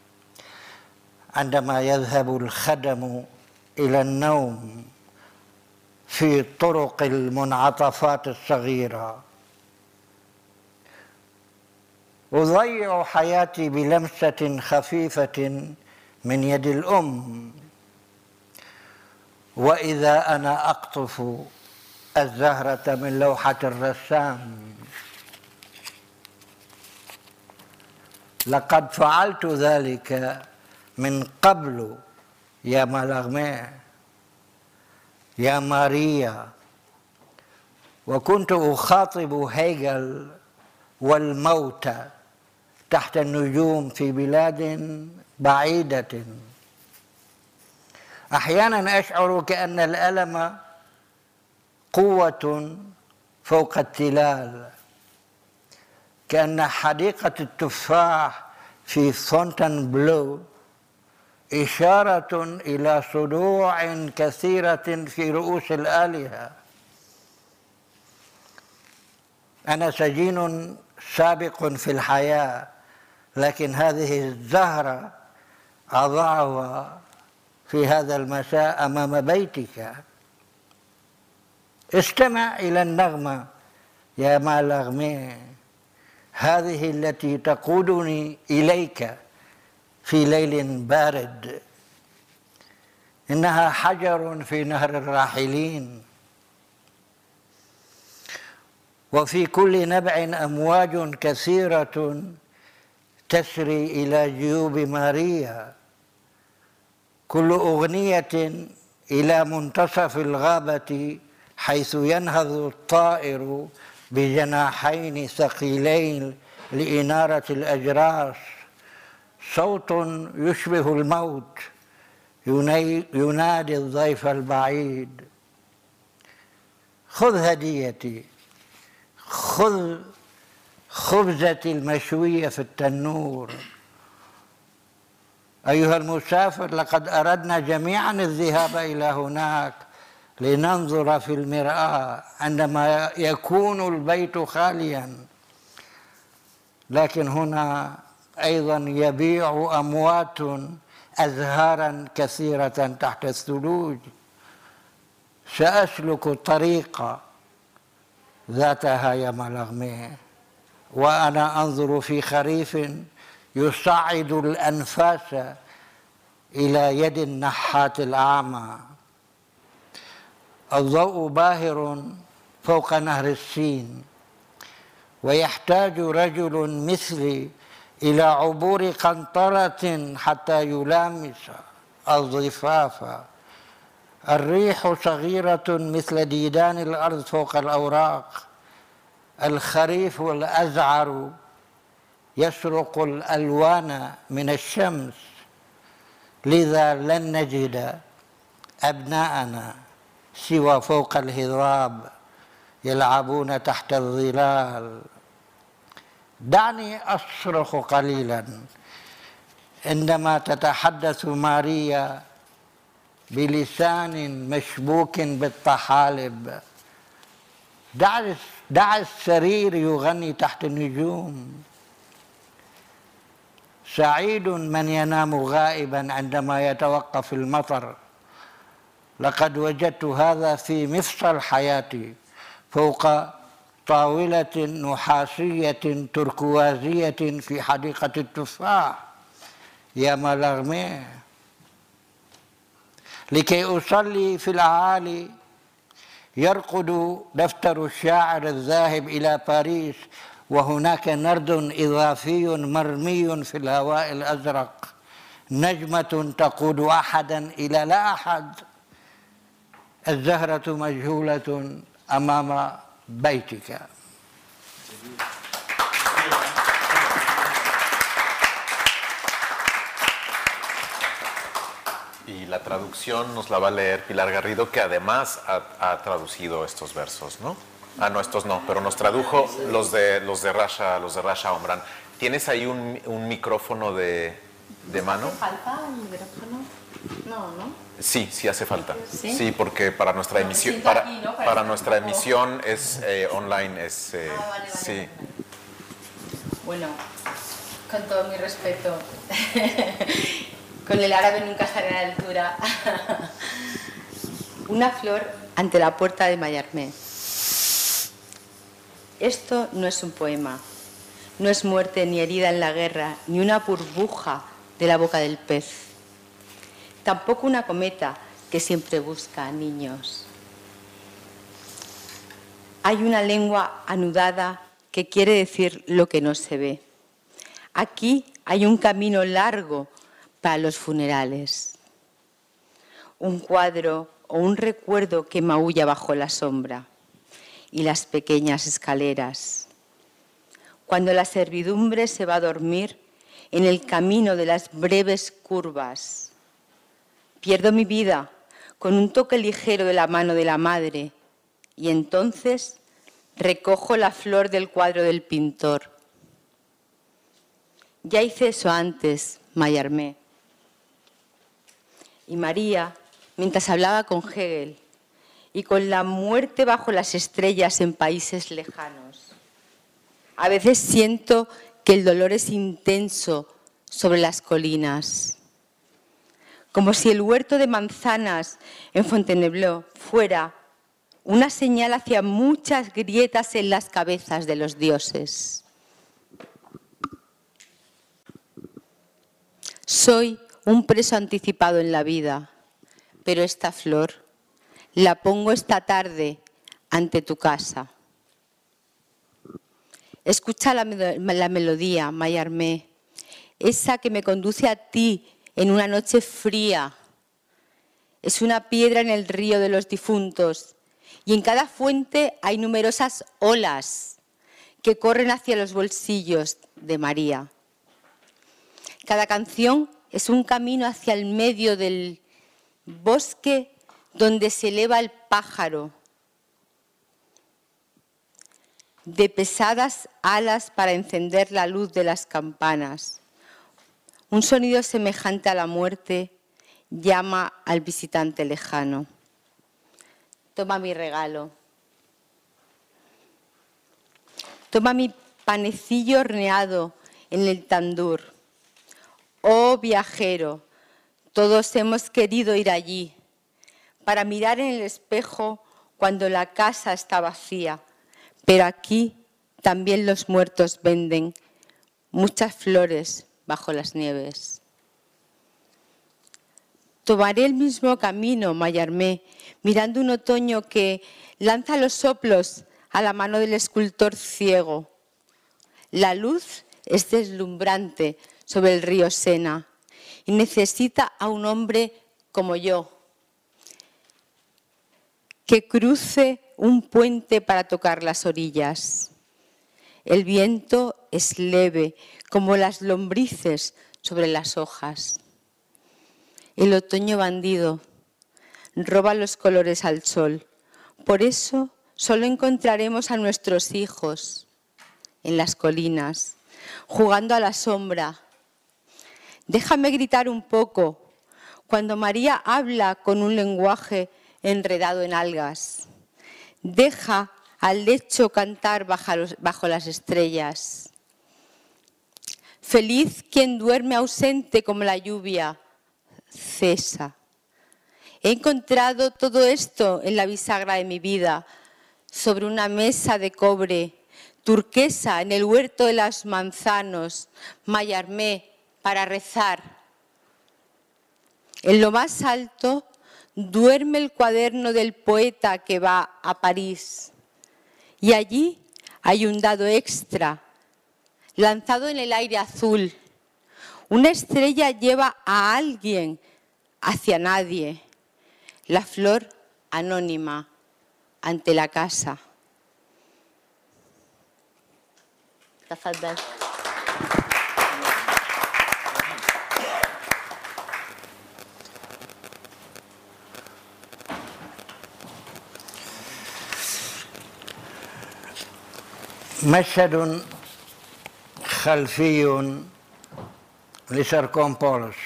عندما يذهب الخدم إلى النوم في طرق المنعطفات الصغيرة، أضيع حياتي بلمسة خفيفة من يد الأم، وإذا أنا أقطف الزهرة من لوحة الرسام. لقد فعلت ذلك من قبل يا مالاغمي، يا ماريا، وكنت أخاطب هيجل والموتى تحت النجوم في بلاد بعيدة. أحيانا أشعر كأن الألم قوة فوق التلال، كأن حديقة التفاح في فونتنبلو إشارة إلى صدوع كثيرة في رؤوس الآلهة. أنا سجين سابق في الحياة، لكن هذه الزهرة أضعها في هذا المساء أمام بيتك. استمع إلى النغمة يا مالاغمي، هذه التي تقودني إليك في ليل بارد. إنها حجر في نهر الراحلين، وفي كل نبع أمواج كثيرة تسري إلى جيوب ماريا. كل أغنية إلى منتصف الغابة حيث ينهض الطائر بجناحين ثقيلين لإنارة الأجراس. صوت يشبه الموت ينادي الضيف البعيد: خذ هديتي، خذ خبزتي المشوية في التنور. أيها المسافر، لقد أردنا جميعا الذهاب إلى هناك لننظر في المرآة عندما يكون البيت خاليا، لكن هنا أيضا يبيع أموات أزهارا كثيرة تحت الثلوج. سأسلك طريق ذاتها يا مالاغمي، وأنا أنظر في خريف يصعد الأنفاس إلى يد النحات الأعمى. الضوء باهر فوق نهر السين، ويحتاج رجل مثلي إلى عبور قنطرة حتى يلامس الضفاف. الريح صغيرة مثل ديدان الأرض فوق الأوراق. الخريف الأزعر يسرق الألوان من الشمس، لذا لن نجد أبناءنا سوى فوق الهضاب يلعبون تحت الظلال. دعني أصرخ قليلا عندما تتحدث ماريا بلسان مشبوك بالطحالب. دعني دع السرير يغني تحت النجوم. سعيد من ينام غائبا عندما يتوقف المطر. لقد وجدت هذا في مفصل حياتي فوق طاولة نحاسية تركوازية في حديقة التفاح يا مالارمي، لكي أصلي في الأعالي. يرقد دفتر الشاعر الذاهب إلى باريس وهناك نرد إضافي مرمي في الهواء الأزرق، نجمة تقود أحدا إلى لا أحد. الزهرة مجهولة أمام بيتك. Y la traducción nos la va a leer Pilar Garrido, que además ha traducido estos versos, ¿no? Ah, no, estos no, pero nos tradujo los de Rasha Omran. ¿Tienes ahí un micrófono de mano? ¿Hace falta el micrófono? No, ¿no? Sí, sí hace falta. ¿Sí? Sí, porque para nuestra emisión, aquí, ¿no? para nuestra emisión es online, es vale. sí. Bueno, con todo mi respeto, con el árabe nunca estaré a la altura. Una flor ante la puerta de Mallarmé. Esto no es un poema, no es muerte ni herida en la guerra, ni una burbuja de la boca del pez. Tampoco una cometa que siempre busca a niños. Hay una lengua anudada que quiere decir lo que no se ve. Aquí hay un camino largo para los funerales. Un cuadro o un recuerdo que maulla bajo la sombra y las pequeñas escaleras. Cuando la servidumbre se va a dormir en el camino de las breves curvas. Pierdo mi vida con un toque ligero de la mano de la madre y entonces recojo la flor del cuadro del pintor. Ya hice eso antes, Mallarmé. Y María, mientras hablaba con Hegel y con la muerte bajo las estrellas en países lejanos, a veces siento que el dolor es intenso sobre las colinas, como si el huerto de manzanas en Fontainebleau fuera una señal hacia muchas grietas en las cabezas de los dioses. Soy un preso anticipado en la vida, pero esta flor la pongo esta tarde ante tu casa. Escucha la melodía, Mallarmé, esa que me conduce a ti en una noche fría. Es una piedra en el río de los difuntos y en cada fuente hay numerosas olas que corren hacia los bolsillos de María. Cada canción es un camino hacia el medio del bosque donde se eleva el pájaro de pesadas alas para encender la luz de las campanas. Un sonido semejante a la muerte llama al visitante lejano. Toma mi regalo. Toma mi panecillo horneado en el tandur. Oh viajero, todos hemos querido ir allí para mirar en el espejo cuando la casa está vacía, pero aquí también los muertos venden muchas flores bajo las nieves. Tomaré el mismo camino, Mallarmé, mirando un otoño que lanza los soplos a la mano del escultor ciego. La luz es deslumbrante sobre el río Sena y necesita a un hombre como yo, que cruce un puente para tocar las orillas. El viento es leve, como las lombrices sobre las hojas. El otoño bandido roba los colores al sol. Por eso solo encontraremos a nuestros hijos en las colinas, jugando a la sombra. Déjame gritar un poco cuando María habla con un lenguaje enredado en algas. Deja al lecho cantar bajo las estrellas. Feliz quien duerme ausente como la lluvia, cesa. He encontrado todo esto en la bisagra de mi vida, sobre una mesa de cobre, turquesa en el huerto de los manzanos, Mallarmé para rezar. En lo más alto duerme el cuaderno del poeta que va a París. Y allí hay un dado extra, lanzado en el aire azul. Una estrella lleva a alguien hacia nadie. La flor anónima ante la casa. Tafadhal. مشهد خلفي لسيركومبولوس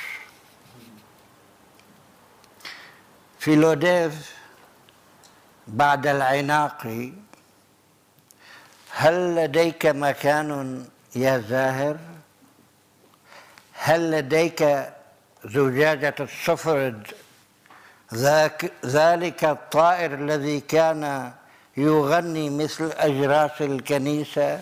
في لوديف بعد العناق. هل لديك مكان يا زاهر؟ هل لديك زجاجة الصفرد ذلك الطائر الذي كان يغني مثل أجراس الكنيسة؟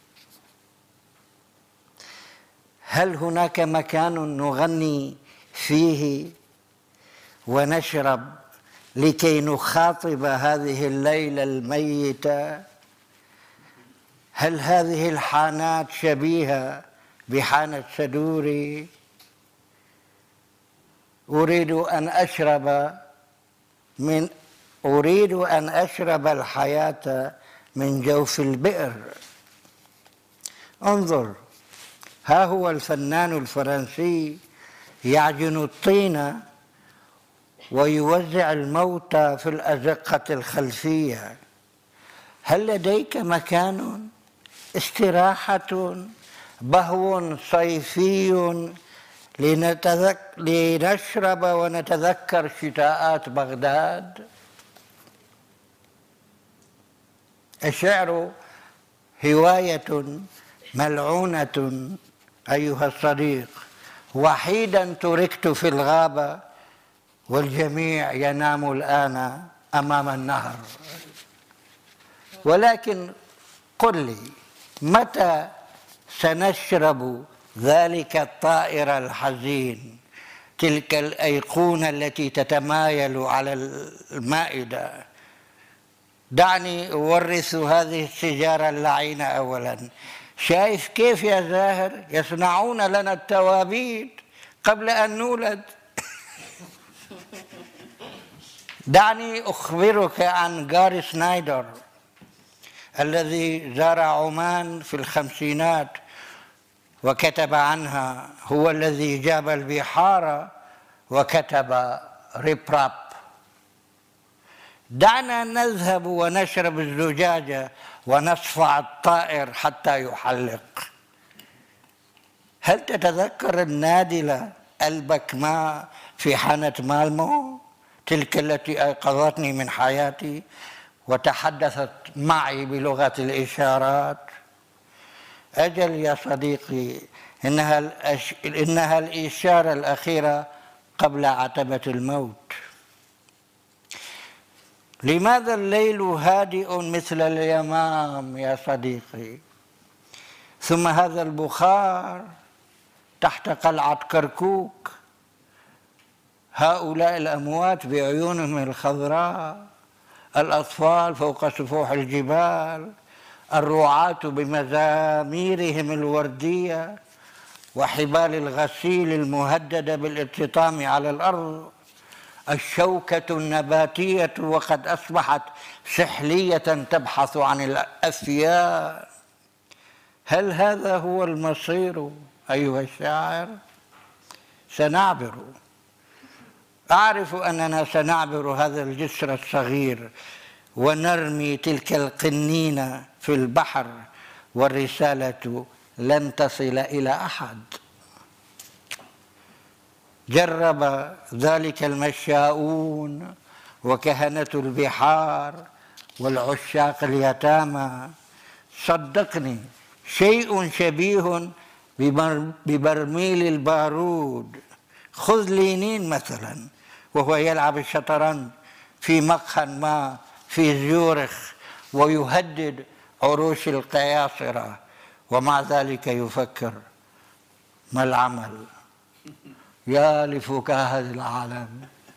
هل هناك مكان نغني فيه ونشرب لكي نخاطب هذه الليلة الميتة؟ هل هذه الحانات شبيهة بحانة سدوري؟ أريد أن أشرب الحياة من جوف البئر. انظر، ها هو الفنان الفرنسي يعجن الطين ويوزع الموتى في الأزقة الخلفية. هل لديك مكان استراحة، بهو صيفي لنشرب ونتذكر شتاءات بغداد؟ الشعر هواية ملعونة أيها الصديق. وحيدا تركت في الغابة والجميع ينام الآن أمام النهر. ولكن قل لي، متى سنشرب ذلك الطائر الحزين، تلك الأيقونة التي تتمايل على المائدة؟ دعني أورث هذه السيجارة اللعينة أولا. شايف كيف يا زاهر يصنعون لنا التوابيت قبل أن نولد؟ دعني أخبرك عن جاري سنايدر الذي زار عمان في الخمسينات وكتب عنها. هو الذي جاب البحار وكتب ريبراب. دعنا نذهب ونشرب الزجاجة ونصفع الطائر حتى يحلق. هل تتذكر النادلة البكماء في حانة مالمو، تلك التي أيقظتني من حياتي وتحدثت معي بلغة الإشارات؟ أجل يا صديقي، إنها الإشارة الأخيرة قبل عتبة الموت. لماذا الليل هادئ مثل اليمام يا صديقي؟ ثم هذا البخار تحت قلعة كركوك، هؤلاء الأموات بعيونهم الخضراء، الأطفال فوق سفوح الجبال، الرعاة بمزاميرهم الوردية وحبال الغسيل المهددة بالارتطام على الأرض، الشوكة النباتية وقد أصبحت سحلية تبحث عن الأفياء. هل هذا هو المصير أيها الشاعر؟ سنعبر. أعرف أننا سنعبر هذا الجسر الصغير ونرمي تلك القنينة في البحر، والرسالة لن تصل إلى أحد. جرب ذلك المشاؤون وكهنة البحار والعشاق اليتامى. صدقني شيء شبيه ببرميل البارود. خذ لينين مثلا وهو يلعب الشطرنج في مقهى ما في زيورخ ويهدد عروش القياصرة، ومع ذلك يفكر ما العمل. يا لفكاهة العالم.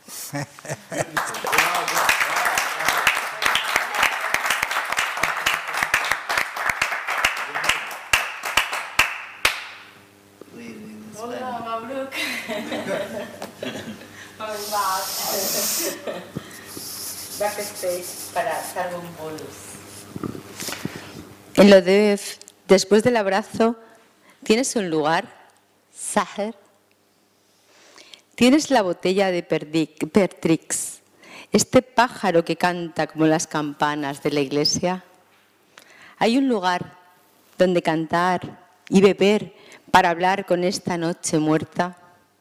En lo de después del abrazo, ¿tienes un lugar, Saher? ¿Tienes la botella de Pertrix, este pájaro que canta como las campanas de la iglesia? ¿Hay un lugar donde cantar y beber para hablar con esta noche muerta?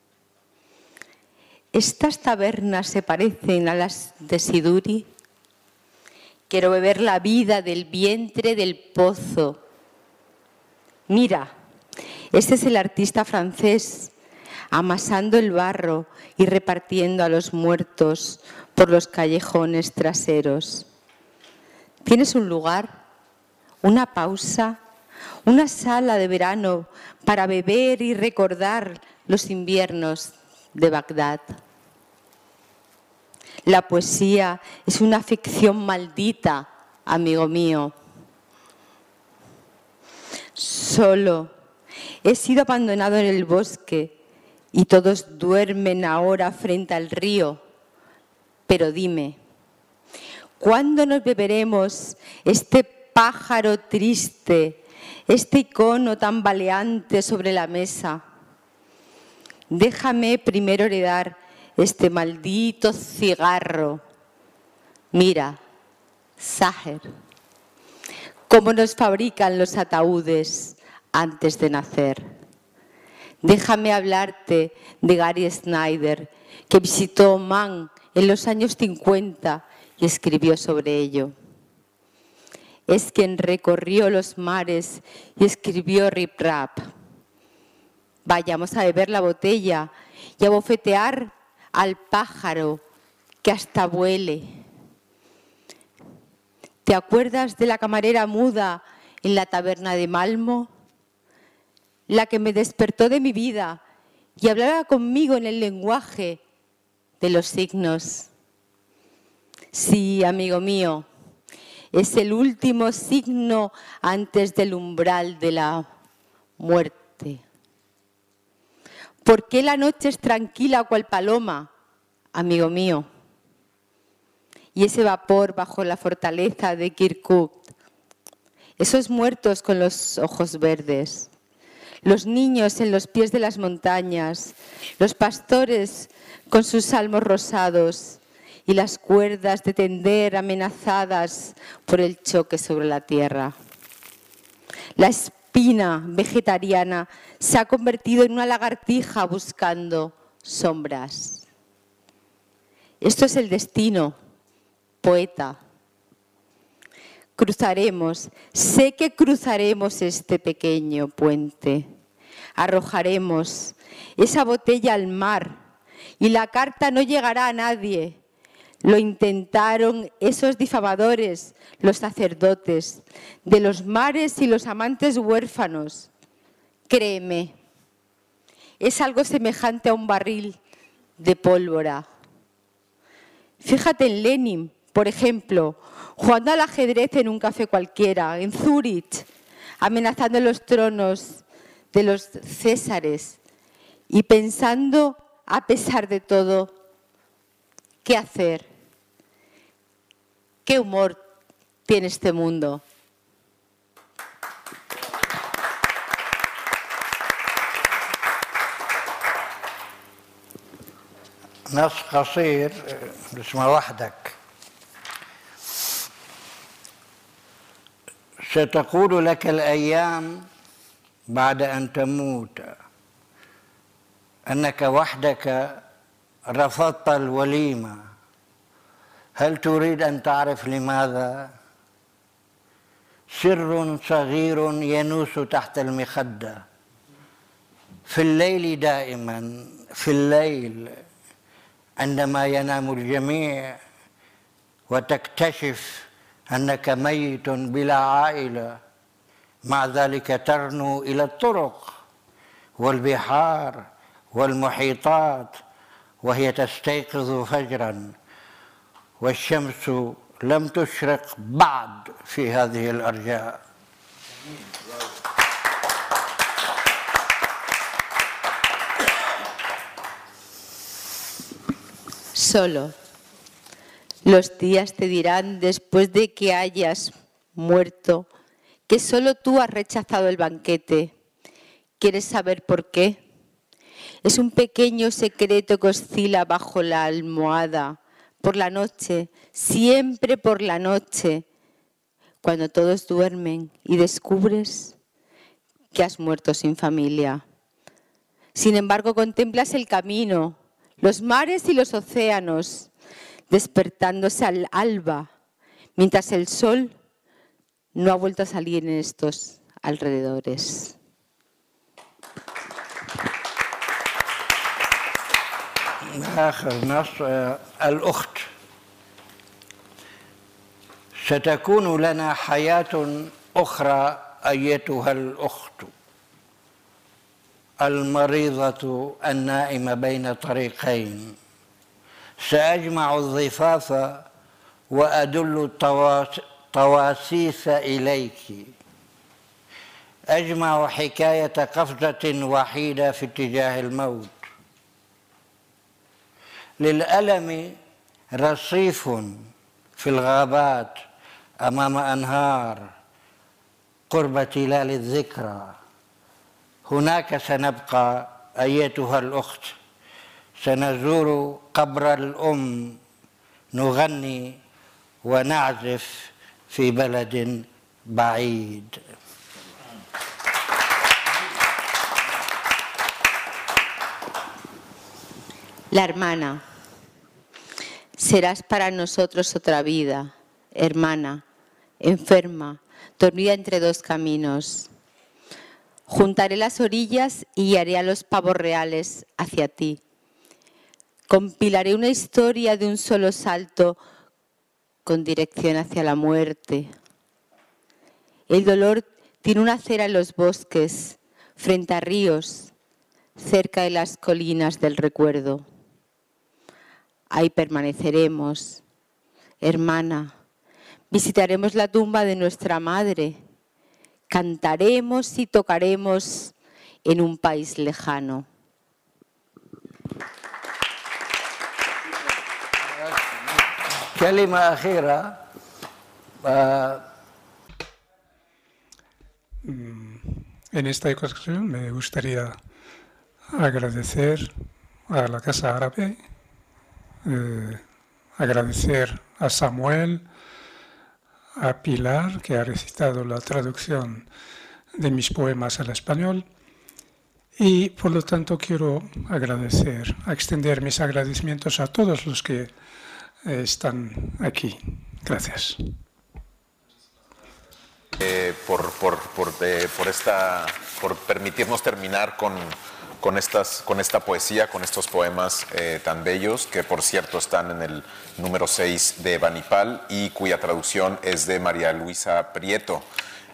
¿Estas tabernas se parecen a las de Siduri? Quiero beber la vida del vientre del pozo. Mira, este es el artista francés, amasando el barro y repartiendo a los muertos por los callejones traseros. ¿Tienes un lugar, una pausa, una sala de verano para beber y recordar los inviernos de Bagdad? La poesía es una ficción maldita, amigo mío. Solo he sido abandonado en el bosque y todos duermen ahora frente al río. Pero dime, ¿cuándo nos beberemos este pájaro triste, este icono tambaleante sobre la mesa? Déjame primero heredar este maldito cigarro. Mira, Saher, cómo nos fabrican los ataúdes antes de nacer. Déjame hablarte de Gary Snyder, que visitó Oman en los años 50 y escribió sobre ello. Es quien recorrió los mares y escribió Rip Rap. Vayamos a beber la botella y a bofetear al pájaro que hasta vuele. ¿Te acuerdas de la camarera muda en la taberna de Malmo? La que me despertó de mi vida y hablaba conmigo en el lenguaje de los signos. Sí, amigo mío, es el último signo antes del umbral de la muerte. ¿Por qué la noche es tranquila cual paloma, amigo mío? Y ese vapor bajo la fortaleza de Kirkuk, esos muertos con los ojos verdes, los niños en los pies de las montañas, los pastores con sus salmos rosados y las cuerdas de tender amenazadas por el choque sobre la tierra. La espina vegetariana se ha convertido en una lagartija buscando sombras. Esto es el destino, poeta. Cruzaremos, sé que cruzaremos este pequeño puente. Arrojaremos esa botella al mar y la carta no llegará a nadie. Lo intentaron esos difamadores, los sacerdotes de los mares y los amantes huérfanos. Créeme, es algo semejante a un barril de pólvora. Fíjate en Lenin, por ejemplo, jugando al ajedrez en un café cualquiera, en Zúrich, amenazando los tronos de los césares y pensando, a pesar de todo, ¿qué hacer? ¿Qué humor tiene este mundo? نص قصير اسمه وحدك. ستقول لك الأيام بعد أن تموت أنك وحدك رفضت الوليمة هل تريد أن تعرف لماذا؟ سر صغير ينوس تحت المخدة في الليل دائما، في الليل عندما ينام الجميع وتكتشف أنك ميت بلا عائلة، مع ذلك ترنو إلى الطرق والبحار والمحيطات وهي تستيقظ فجرا والشمس لم تشرق بعد في هذه الأرجاء. Solo los días te dirán, después de que hayas muerto, que solo tú has rechazado el banquete. ¿Quieres saber por qué? Es un pequeño secreto que oscila bajo la almohada, por la noche, siempre por la noche, cuando todos duermen y descubres que has muerto sin familia. Sin embargo, contemplas el camino, los mares y los océanos, despertándose al alba, mientras el sol no ha vuelto a salir en estos alrededores. آخر نص الأخت: ستكون لنا حياة أخرى أيتها الأخت المريضة النائمة بين طريقين. سأجمع الضفاف وأدل الطواسيس إليك. أجمع حكاية قفزة وحيدة في اتجاه الموت. للألم رصيف في الغابات أمام أنهار قرب تلال الذكرى. هناك سنبقى أيتها الأخت، سنزور قبر الأم، نغني ونعزف في بلد بعيد. La hermana. Serás para nosotros otra vida, hermana, enferma, dormida entre dos caminos. Juntaré las orillas y guiaré a los pavos reales hacia ti. Compilaré una historia de un solo salto con dirección hacia la muerte. El dolor tiene una acera en los bosques, frente a ríos, cerca de las colinas del recuerdo. Ahí permaneceremos, hermana. Visitaremos la tumba de nuestra madre. Cantaremos y tocaremos en un país lejano. كلمة أخيرة. En esta ocasión me gustaría agradecer a la Casa Árabe, agradecer a Samuel, a Pilar, que ha recitado la traducción de mis poemas al español, y por lo tanto quiero extender mis agradecimientos a todos los que están aquí. Gracias. Por permitirnos terminar con esta poesía, con estos poemas tan bellos, que por cierto están en el número 6 de Banipal y cuya traducción es de María Luisa Prieto.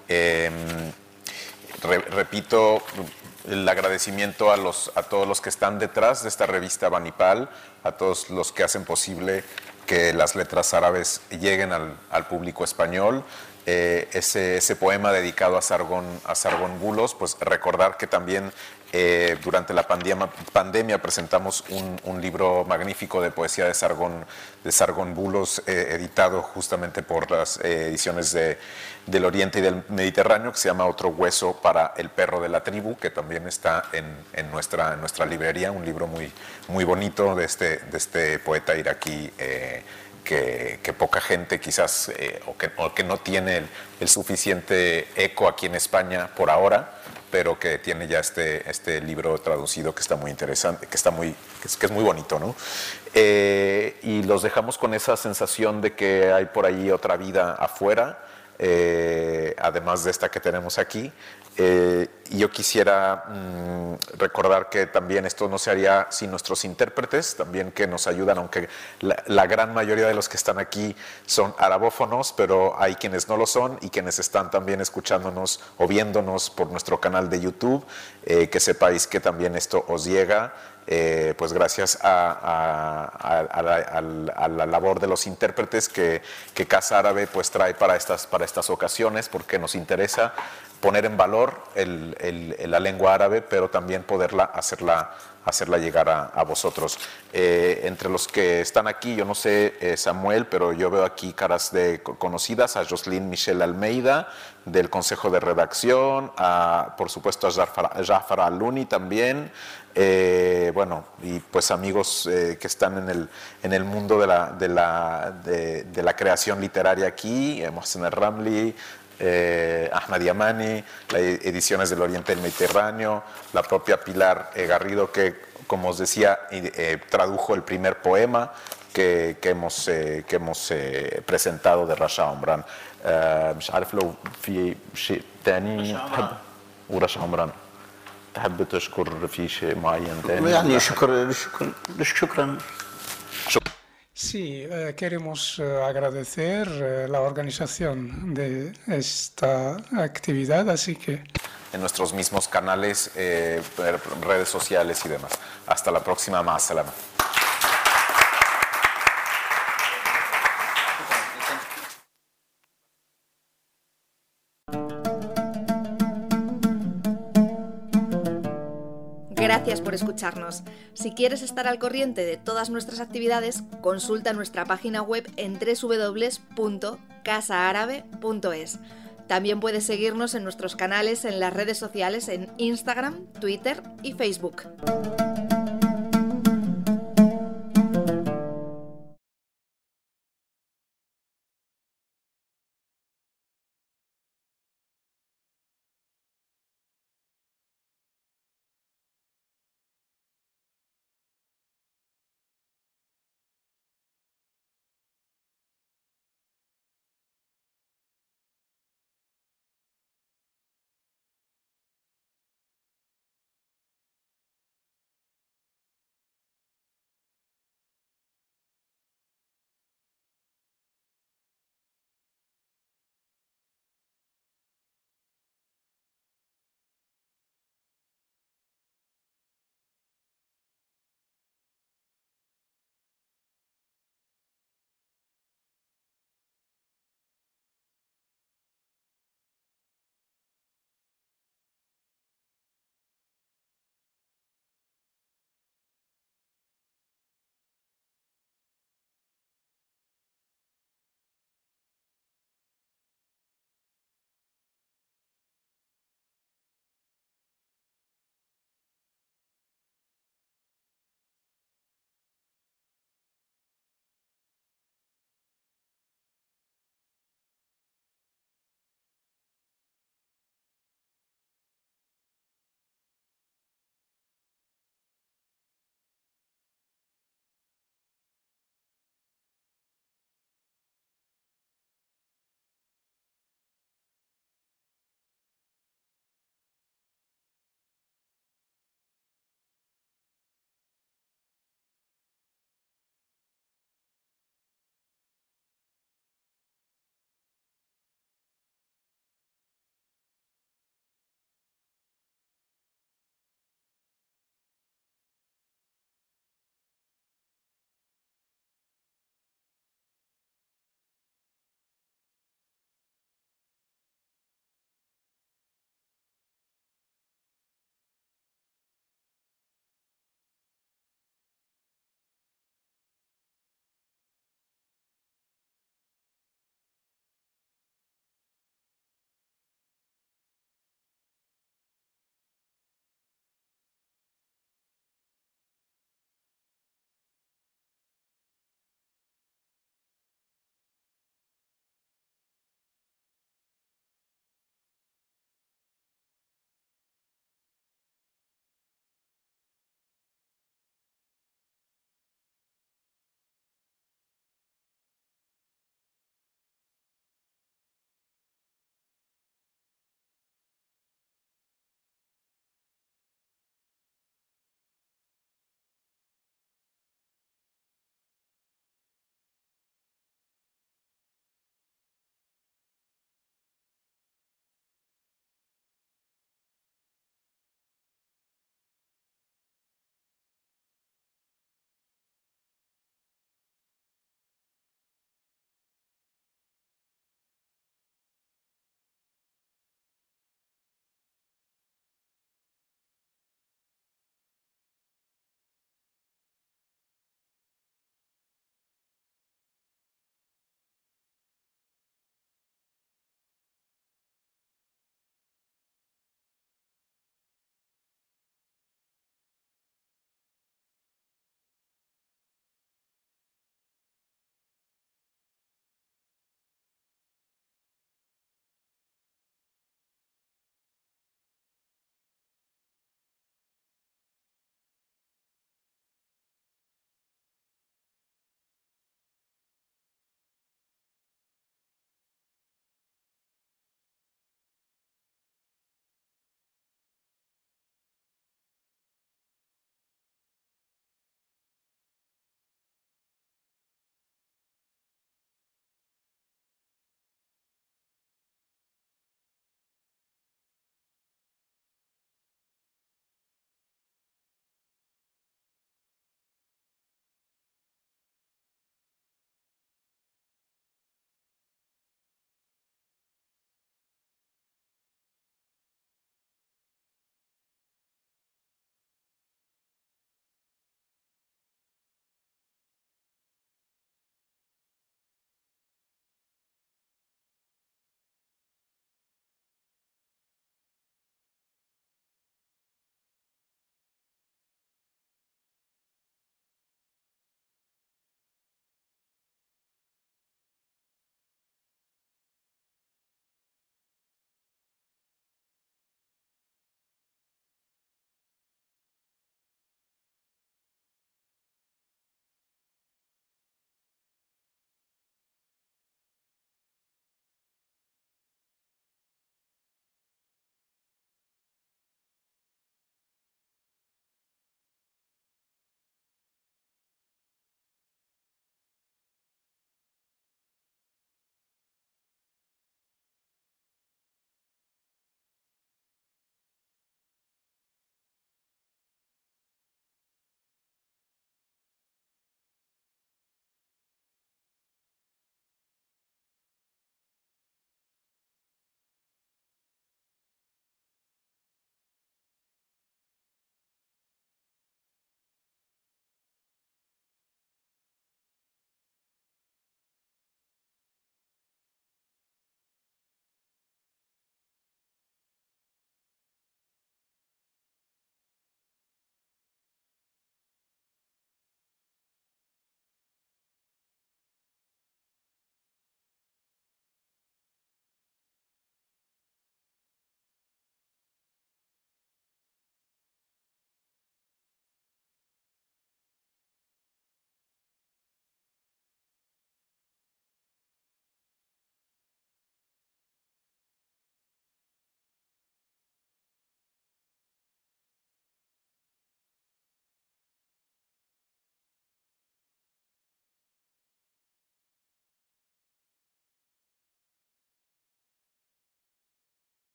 Repito el agradecimiento a todos los que están detrás de esta revista Banipal, a todos los que hacen posible que las letras árabes lleguen al público español. Ese poema dedicado a Sargon Bulos, pues recordar que también durante la pandemia presentamos un libro magnífico de poesía de Sargon Bulos, editado justamente por las ediciones del Oriente y del Mediterráneo, que se llama Otro hueso para el perro de la tribu, que también está en nuestra librería, un libro muy bonito de este poeta iraquí, que poca gente quizás, o que no tiene el suficiente eco aquí en España por ahora, pero que tiene ya este libro traducido que está muy interesante, que es muy bonito, ¿no? Y los dejamos con esa sensación de que hay por ahí otra vida afuera, además de esta que tenemos aquí. Y yo quisiera recordar que también esto no se haría sin nuestros intérpretes, también que nos ayudan, aunque la gran mayoría de los que están aquí son arabófonos, pero hay quienes no lo son y quienes están también escuchándonos o viéndonos por nuestro canal de YouTube, que sepáis que también esto os llega. Pues gracias a la labor de los intérpretes que Casa Árabe pues trae para estas ocasiones, porque nos interesa poner en valor la lengua árabe, pero también poderla hacerla llegar a vosotros. Entre los que están aquí, yo no sé, Samuel, pero yo veo aquí caras conocidas, a Jocelyn Michel Almeida, del Consejo de Redacción, por supuesto a Jafar Aluni también, bueno, y pues amigos que están en el mundo de la creación literaria aquí, Mohsen El-Ramli, Ahmad Yamani, las ediciones del Oriente del Mediterráneo, la propia Pilar Garrido, que como os decía, tradujo el primer poema que hemos presentado de Rasha Omran. مش عارف لو في شيء تاني تحب ورشا عمران تحب تشكر في شيء معين تاني يعني شكرا. Sí, queremos agradecer la organización de esta actividad, así que... En nuestros mismos canales, redes sociales y demás. Hasta la próxima, más salama. Gracias por escucharnos. Si quieres estar al corriente de todas nuestras actividades, consulta nuestra página web en www.casaarabe.es. También puedes seguirnos en nuestros canales en las redes sociales en Instagram, Twitter y Facebook.